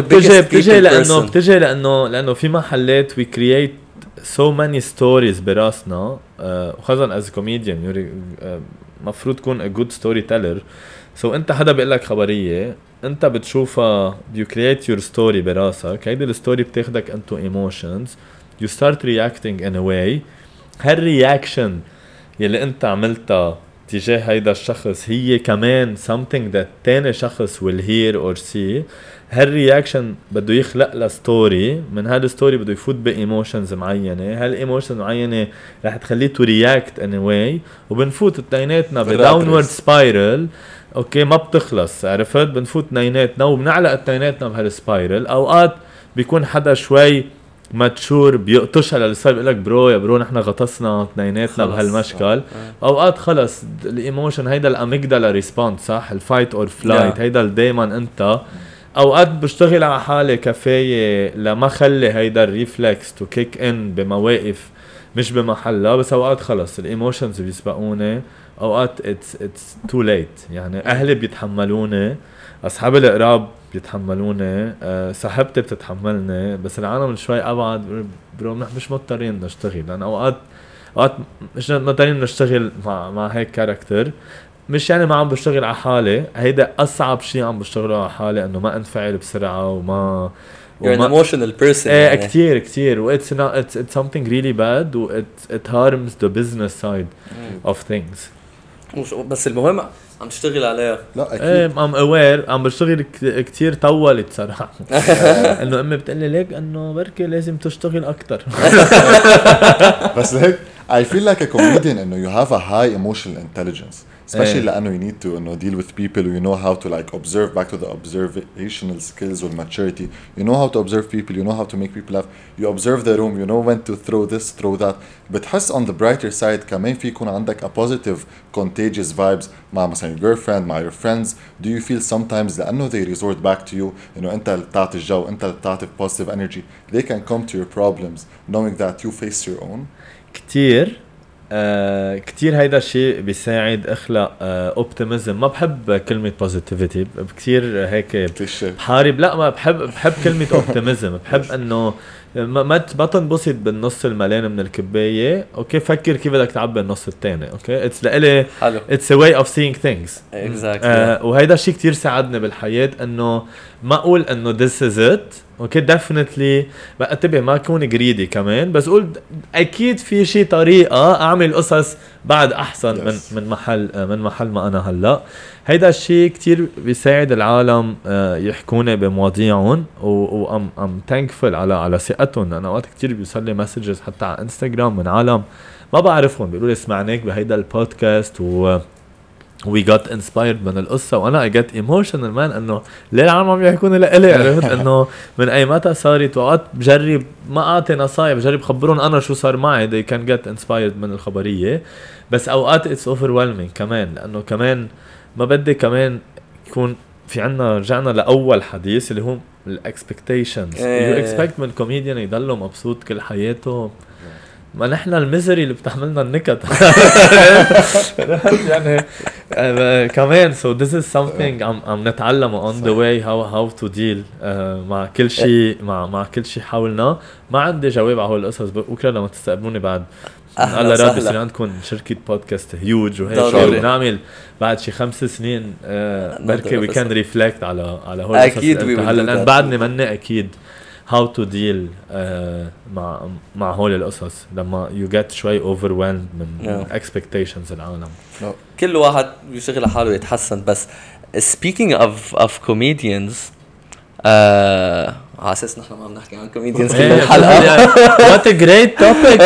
بتجي لأنه في محلات we create so many stories براسنا وخاصة as a comedian مفروض تكون a good storyteller. so انت حدا بيقول لك خبرية انت بتشوفها you create your story براسك. هيدي الستوري بتاخدك into emotions, you start reacting in a way. هالرياكشن يلي انت عملتها تجاه هيدا الشخص هي كمان something that تاني شخص will hear or see. هالرياكشن بده يخلق له ستوري, من هالستوري بده يفوت بايموشنز معينه, هالايموشنز معينه رح تخليه تو رياكت ان واي, وبنفوت اثنيناتنا بداونورد سبايرل. اوكي ما بتخلص, عرفت؟ بنفوت اثنيناتنا وبنعلق اثنيناتنا بهالسبايرل. اوقات بيكون حدا شوي ماتشور بيقطش على السبب يقول لك برو يا برو نحن غطسنا اثنيناتنا بهالمشكل. اوقات خلص الايموشن هيدا الاميجدالا ريسبونس, صح, الفايت اور فلايت, هيدا دايما انت. اوقات بشتغل على حالي كفايه لما خلي هيدا الريفلكس تو كيك ان بمواقف مش بمحلها, بس اوقات خلص الايموشنز بيسبقوني. اوقات اتس تو ليت, يعني اهلي بيتحملوني, اصحابي القراب بيتحملوني, صاحبتي بتتحملني, بس العالم شوي ابعد برو مش مضطرين نشتغل, لان اوقات مش مضطرين نشتغل مع هيك كاركتر. مش يعني ما عم بشتغل على حالي, هيدا أصعب شيء عم بشتغله على حالي, إنه ما انفعل بسرعة وما You're an emotional person. يعني. كتير it's something really bad, it harms the business side of things. بس المهم عم تشتغل عليها. لا أكيد. I'm aware, عم بشتغل كتير طولت صراحة. إنه أمي بتقلي ليك إنه بركي لازم تشتغل أكتر. بس هيك I feel like a comedian إنه you have a high emotional intelligence. especially لأنه you need to deal with people, you know how to like observe, back to the observational skills or maturity. You know how to observe people, you know how to make people laugh, you observe the room, you know when to throw this, throw that. بتحس on the brighter side كمان في يكون عندك a positive contagious vibes مع مثلا your girlfriend, مع your friends. Do you feel sometimes لأنه they resort back to you, إنه أنت اللي بتعطي الجو, أنت اللي بتعطي positive energy, they can come to your problems knowing that you face your own. كتير هيدا الشيء بيساعد اخلق اوبتيميزم. ما بحب كلمه بوزيتيفيتي كتير هيك حارب, لا ما بحب كلمه اوبتيميزم. بحب انه ما تنبسط بالنص المليان من الكبايه, اوكي فكر كيف بدك تعبي النص الثاني. اوكي اتس لإلي اتس ا واي اوف سيينج ثينجز. وهيدا الشيء كتير ساعدني بالحياه, انه ما اقول انه this is it. اوكي ديفينتلي بقى انتبه ما اكون جريدي كمان, بس قول اكيد في شيء طريقه اعمل قصص بعد احسن من محل ما انا هلا. هيدا الشيء كتير بيساعد العالم يحكوني بمواضيعهم, وام ثانكفul على ثقتهم. انا وقت كتير بيوصل لي مسجز حتى على انستغرام من عالم ما بعرفهم بيقولوا لي سمعناك بهيدا البودكاست we got inspired من القصة, وأنا I get emotional man إنه ليه العالم عم يحكوني لإلي. عرفت إنه من أي متى صارت. وقت بجرب ما أعطي نصايح, بجرب خبرون أنا شو صار معي, they can get inspired من الخبرية. بس أوقات it's overwhelming كمان, لأنه كمان ما بدي كمان يكون في عنا رجعنا لأول حديث اللي هو expectations. you expect من comedian يضله مبسوط كل حياته, ما نحن الميزري اللي بتحملنا النكت. يعني كمان so this is something عم نتعلمه on the way how to deal مع كل شيء مع كل شيء حولنا. ما عندي جواب على هول القصص, بكره لما تستقبلوني بعد الله راد يصير عندكم شركة بودكاست هيوج وهيك نعمل بعد شي 5 سنين بركي we can reflect على هول القصص. أكيد هلا لأن بعدني مني أكيد how to deal مع هول القصص لما you get شوي overwhelmed من expectations العالم. كل واحد يشتغل على حاله يتحسن. بس speaking of comedians, على اساس نحن ما عم نحكي عن comedians كل الحلقة. what a great topic.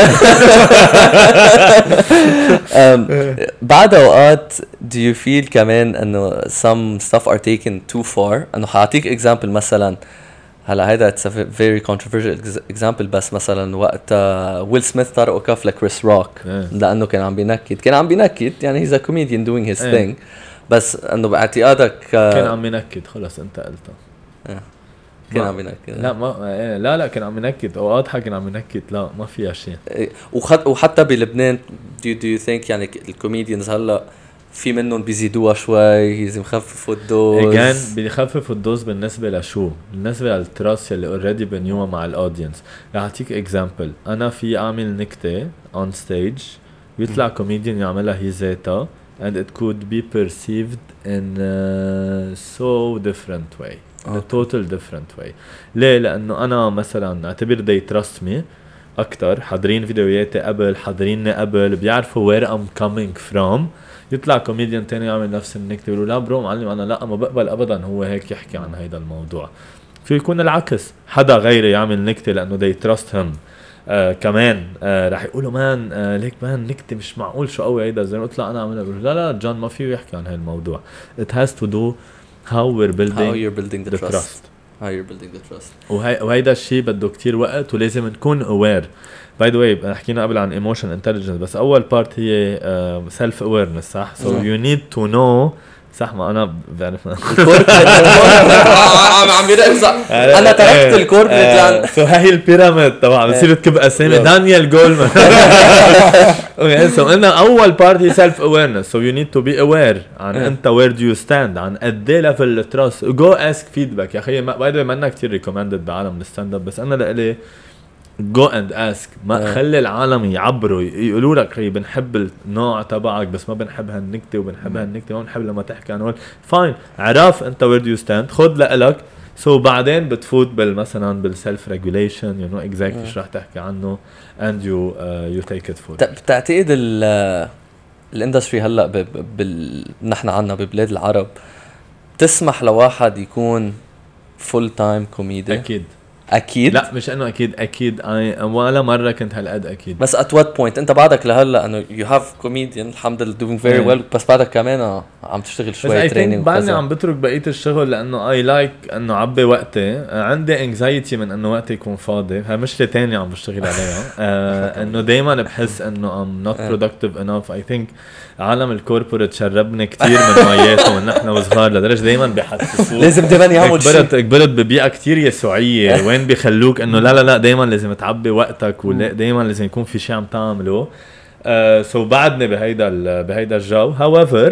بعد اوقات do you feel كمان انه some stuff are taken too far. انه حاعطيك example مثلا, هلا هيدا it's a very controversial example, بس مثلا وقت ويل سميث طرقوا كف لكريس روك لانه كان عم بينكد يعني he's a comedian doing his thing, بس انه باعتقادك كان عم ينكد خلص انت قلتها كان عم ينكد. لا ما لا كان عم ينكد او اضحك كان عم ينكد, لا ما فيها شيء. وحتى بلبنان do you think يعني الكوميديانز هلا في منهم بيزيدوها شوي, لازم يخففوا الدوز. كان بيخففوا الدوز بالنسبه لشو؟ بالنسبه للتراس اللي اوريدي بنيوها مع الاودينس. رح اعطيك اكزامبل. انا في اعمل نكته اون ستيج ويطلع كوميديان يعملها هي ذاتها and it could be perceived in a so different way in a total different way. ليه؟ لأنه أنا مثلا اعتبر they trust me أكتر، حاضرين فيديوهاتي قبل، حاضريني قبل، بيعرفوا where I'm coming from. يطلع كوميديان تاني يعمل نفس النكتة يقولوا لا برو معلم أنا لا ما بقبل أبدا هو هيك يحكي عن هيدا الموضوع. في يكون العكس، حدا غيري يعمل نكتة لأنه they trust him كمان راح يقولوا مان ليك مان نكتة مش معقول شو قوي هيدا زي ما قلت لا أنا أعملها لا جون ما فيه يحكي عن هالموضوع. It has to do how you're building the trust. How you're building the trust. وهيدا الشيء بده كتير وقت ولازم نكون aware. By the way حكينا قبل عن emotion intelligence بس أول part هي self awareness صح؟ So you need to know صح ما أنا بعرف عم يرقص أنا تركت الكوربريت so هاي البيراميد طبعا بصير تكب أسامي دانيال جولمان. so إنه أول part هي self awareness so you need to be aware عن أنت where do you stand عن قد إيه level trust go ask feedback يا أخي by the way ما أنا كتير recommended بعالم الستاند اب بس أنا لقلي go and ask ما خلي العالم يعبروا يقولوا لك هي بنحب النوع تبعك بس ما بنحب هالنكتة وبنحب هالنكتة ما بنحب لما تحكي عن فاين عرف انت where do you stand خد لقلك بعدين بتفوت مثلا بالسلف ريجوليشن you know exactly شو رح تحكي عنه and you take it forward. بتعتقد الاندستري هلا نحن عنا ببلاد العرب تسمح لواحد يكون فول تايم كوميدي؟ اكيد لا مش انه اكيد ولا مره كنت هالقد اكيد بس at what point انت بعدك لهلا انه you have comedian الحمد لله doing very well بس بعدك كمان عم تشتغل شوي تريننج بعدني عم بترك بقيه الشغل لانه I like انه عبي وقتي عندي anxiety من انه وقتي يكون فاضي هاي مشكله تانية عم بشتغل عليها انه دايما بحس انه I'm not productive enough. I think عالم الكوربوريت شربني كتير من مياته ونحن وصغار لدرجه دايما بيحسسوك لازم دايما يعمل شيء كبرت ببيئه كتير يسوعيه وين بيخلوك انه لا دايما لازم تعبي وقتك ودايما لازم يكون في شيء عم تعمله. سو بعدني بهيدا الجو. however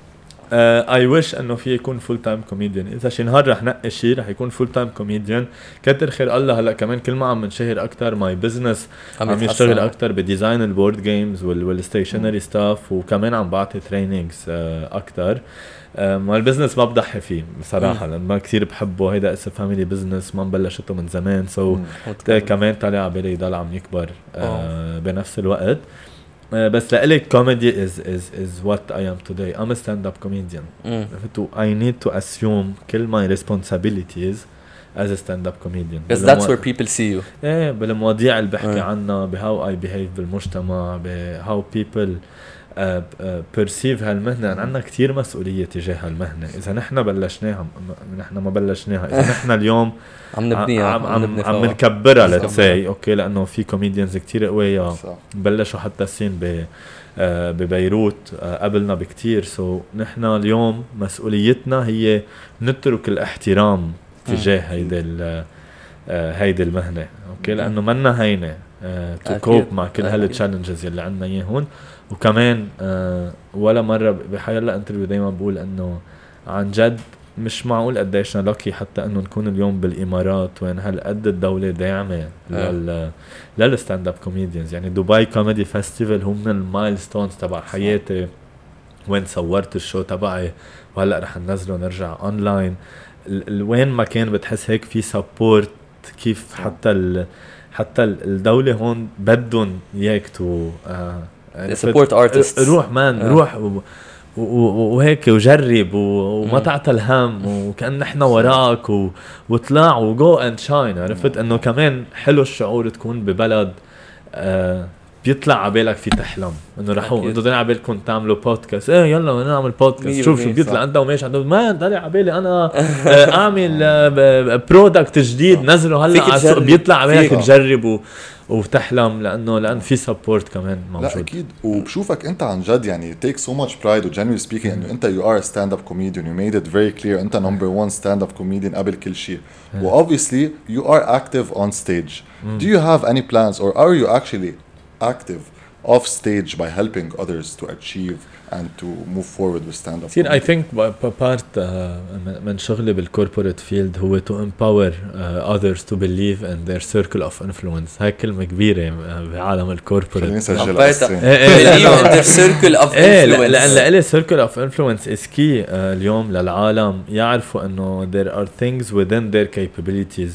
I wish انه في يكون فول تايم كوميديان. اذا شي نهار رح نقي شيء رح يكون فول تايم كوميديان. كتر خير الله هلا كمان كل ما عم نشهر اكثر ماي بزنس عم يشتغل اكثر بديزاين البورد جيمز والستيشنري ستاف وكمان عم بعطي تريننجز اكثر. البزنس ما بضحي فيه بصراحه لأن ما كثير بحبه. هيدا اسم فاميلي بزنس ما بلشته من زمان كمان طالع على بالي يضل عم يكبر بنفس الوقت. بس لإلي comedy is what I am today. I'm a stand-up comedian. I need to assume كل my responsibilities as a stand-up comedian. Because that's where people see you. بالمواضيع اللي بحكي عنها how I behave بالمجتمع how people perceive هالمهنة. عنا كتير مسؤولية تجاه هالمهنة. إذا نحن بلشناها نحن ما بلشناها. إذا نحن اليوم عم نكبرها let's say okay لأنه في comedians كتير قوية بلشوا حتى السين ببيروت قبلنا بكتير. نحن اليوم مسؤوليتنا هي نترك الاحترام تجاه هيدي المهنة okay لأنه منا هينة to cope مع كل هالتشالنجز اللي عنا إياهون. وكمان ولا مرة بحيالله انترفيو دايما بقول انه عن جد مش معقول قديشنا لكي حتى انه نكون اليوم بالامارات وين هالقد الدولة داعمة للستاند اب كوميديانز. يعني دبي كوميدي فيستيفال هم من المايلستونز تبع حياتي وين صورت الشو تبعي وهلا رح ننزله نرجع اونلاين. وين ما كان بتحس هيك في سبورت كيف حتى الدولة هون بدهم اياك تو support artists. روح روح وهيك وجرب وما تعتل هم وكأن نحن وراك وطلع وجو اند شاين. عرفت انه كمان حلو الشعور تكون ببلد بيطلع عبالك في تحلم انه رحوا انتوا ضلوا عبالكم تعملوا بودكاست يلا نعمل بودكاست شوف شو بيطلع انت وماشي عندهم ما ضلوا عبالي انا اعمل برودكت جديد نزله هلا على السوق بيطلع عبالك تجرب وتحلم لأن في سبورت كمان موجود. لا أكيد. وبشوفك أنت عن جد يعني take so much pride و genuinely speaking إنه أنت you are a stand-up comedian. You made it very clear أنت number one stand-up comedian قبل كل شيء. و obviously you are active on stage. Do you have any plans or are you actually active off stage by helping others to achieve and to move forward with stand up. I think part من شغلي بالcorporate field هو to empower others to believe in their circle of influence. هاي كلمة كبيرة بعالم الcorporate. خليني نسجلها believe in their circle of influence. لأن لإلي circle of influence is key اليوم للعالم يعرفوا إنه there are things within their capabilities.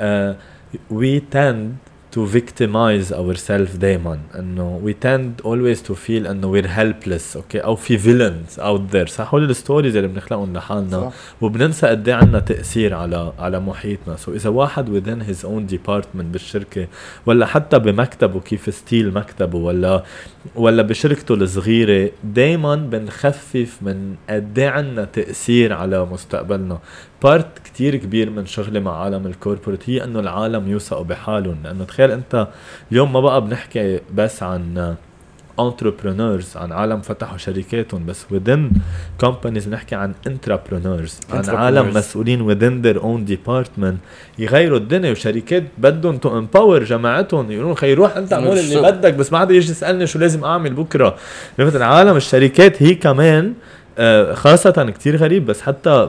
We tend to victimize ourselves دايما انه we tend always to feel انه we're helpless اوكي او في villains out there صح هول الستوريز اللي بنخلقهم لحالنا وبننسى قد ايه عندنا تاثير على محيطنا. سو اذا واحد within his own department بالشركه ولا حتى بمكتبه كيف ستيل مكتبه ولا بشركته الصغيره دايما بنخفف من قد ايه عندنا تاثير على مستقبلنا. بارت كتير كبير من شغلي مع عالم الكوربوريت هي انه العالم يوثقوا بحالهم. لانه تخيل انت اليوم ما بقى بنحكي بس عن entrepreneurs عن عالم فتحوا شركاتهم بس within companies نحكي عن entrepreneurs عن عالم مسؤولين within their own department يغيروا الدنيا. وشركات بدهم to empower جماعتهم يقولون خي روح انت اعمل اللي بدك بس ما حدا يجي يسألني شو لازم اعمل بكرة. مثلا عالم الشركات هي كمان خاصة كتير غريب بس حتى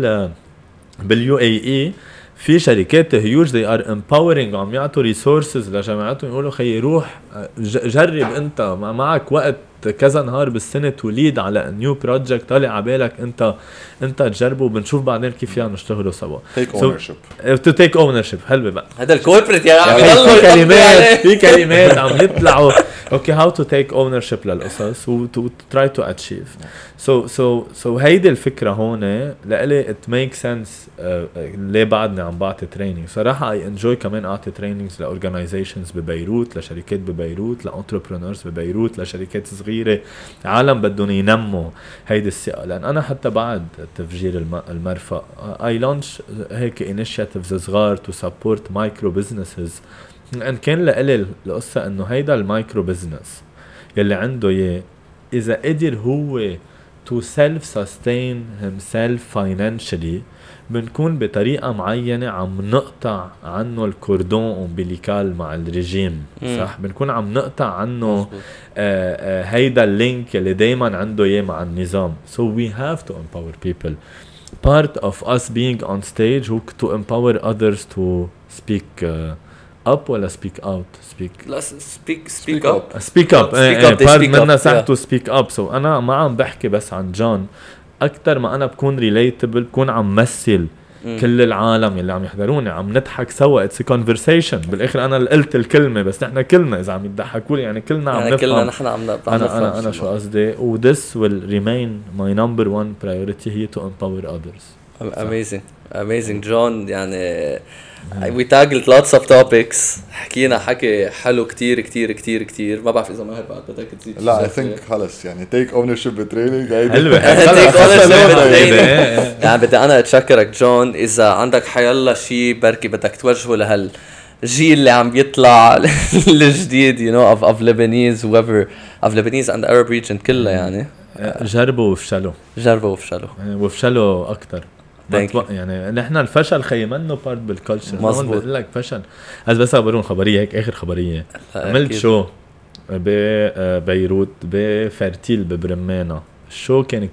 باليو اي اي في شركات هيوج they are empowering عم يعطوا resources لجماعتهم يقولوا خي روح جرب انت معك وقت كذا نهار بالسنة توليد على نيو بروجكت طالع عبالك انت تجربه وبنشوف بعدين كيف فينا نشتغلوا سوا. take ownership to take ownership حلوة بقى هذا الكوربريت يا عم في كلمات عم يطلعوا اوكي how to take ownership للقصص و to try to achieve. so هيدي الفكرة هون لإلي it makes sense ليه بعدني عم بعطي training صراحة I enjoy كمان أعطي trainings لorganizations ببيروت لشركات ببيروت لentrepreneurs ببيروت لشركات صغيرة عالم بدهم ينموا هيدي الثقة. لأن أنا حتى بعد تفجير المرفأ I launch هيك initiatives صغار to support micro businesses. ان كان لإلي القصة انه هيدا المايكرو بزنس يلي عنده اياه اذا قدر هو to self-sustain himself financially بنكون بطريقة معينة عم نقطع عنه الكوردون امبليكال مع الرجيم صح بنكون عم نقطع عنه هيدا اللينك اللي دايما عنده اياه مع النظام. So we have to empower people. Part of us being on stage who to empower others to speak up ولا speak out لا speak up part منا ساعته speak up. so أنا ما عم بحكي بس عن جون أكتر ما أنا بكون relatable بكون عم مثل كل العالم اللي عم يحضروني عم نضحك سوا it's a conversation بالآخر أنا اللي قلت الكلمة بس نحن كلنا إذا عم يضحكوا لي يعني كلنا عم نفهم كلنا نحن عم نفهم أنا شو قصدي و this will remain my number one priority هي to empower others. amazing John يعني we tackled lots of topics حكينا حكي حلو كتير ما بعرف إذا ماهر بعد بدك تزيد لا I think خلص يعني take ownership بالtraining حلوة take ownership بالtraining يعني بدي أنا أتشكرك جون. إذا عندك حيالله شي بركي بدك توجهه لهالجيل اللي عم بيطلع الجديد you know of Lebanese whoever of Lebanese and Arab region كلها يعني جربوا وفشلوا أكتر يعني نحن الفشل خي منه بارت بالكالتشر مظبوط. بقول لك فشل بس أخبرون خبرية هيك آخر خبرية عملت شو ببيروت بفرتيل ببرمانة. الشو كان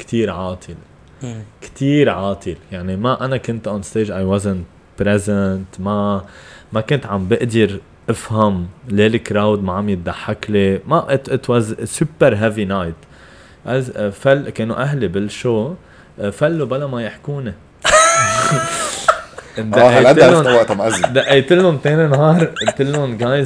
كتير عاطل يعني ما أنا كنت on stage I wasn't present ما كنت عم بقدر أفهم ليه الكراود ما عم يتضحك لي ما it was a super heavy night. كانوا أهلي بالشو فلوا بلا ما يحكوني دقيت لهم تاني نهار قلت لهم جايز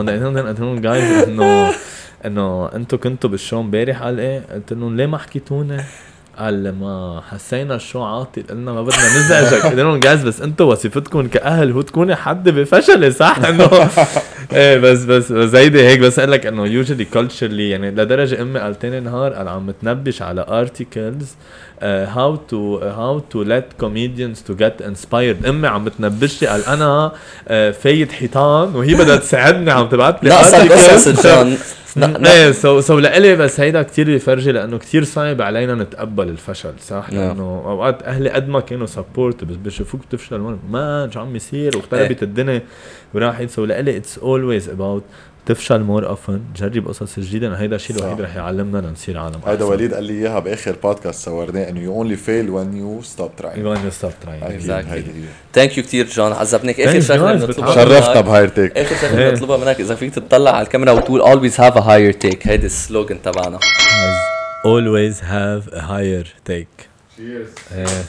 انه انتوا كنتوا بالشو امبارح. قال ايه؟ قلت لهم ليه ما حكيتوني؟ قال ما حسينا الشو عاطل قلنا ما بدنا نزعجك. قلت لهم جايز بس انتوا وظيفتكم كأهل هو تكوني حد بفشل صح انه ايه بس زيدي هيك بس قال لك انه usually culturally يعني لدرجة امي قال تاني نهار قال عم تنبش على articles how to let comedians to get inspired. امي عم بتنبش لي قال انا فايت حيطان وهي بدها تساعدني عم تبعت لي articles ايه سو لإلي بس هيدا كتير يفرجي لانه كتير صعب علينا نتقبل الفشل صح لانه اوقات اهلي قد ما كانوا سبورت بس بشوفوك تفشل ما شو عم يصير واختربت الدنيا وراحت. سو لإلي it's always about تفشل مور اوفن، جرب قصص جديده، هيدا الشيء الوحيد رح يعلمنا لنصير عالم هيدا وليد قال لي اياها باخر بودكاست صورناه انه you only fail when you stop trying. when you stop trying. ثانك يو كثير جون، عذبنيك. اخر شغله بنطلبها شرفنا بهاير تيك. اخر شغله بنطلبها منك اذا فيك تطلع على الكاميرا وتقول always have a higher take. هيدا السلوغن تبعنا. always have a higher take. cheers.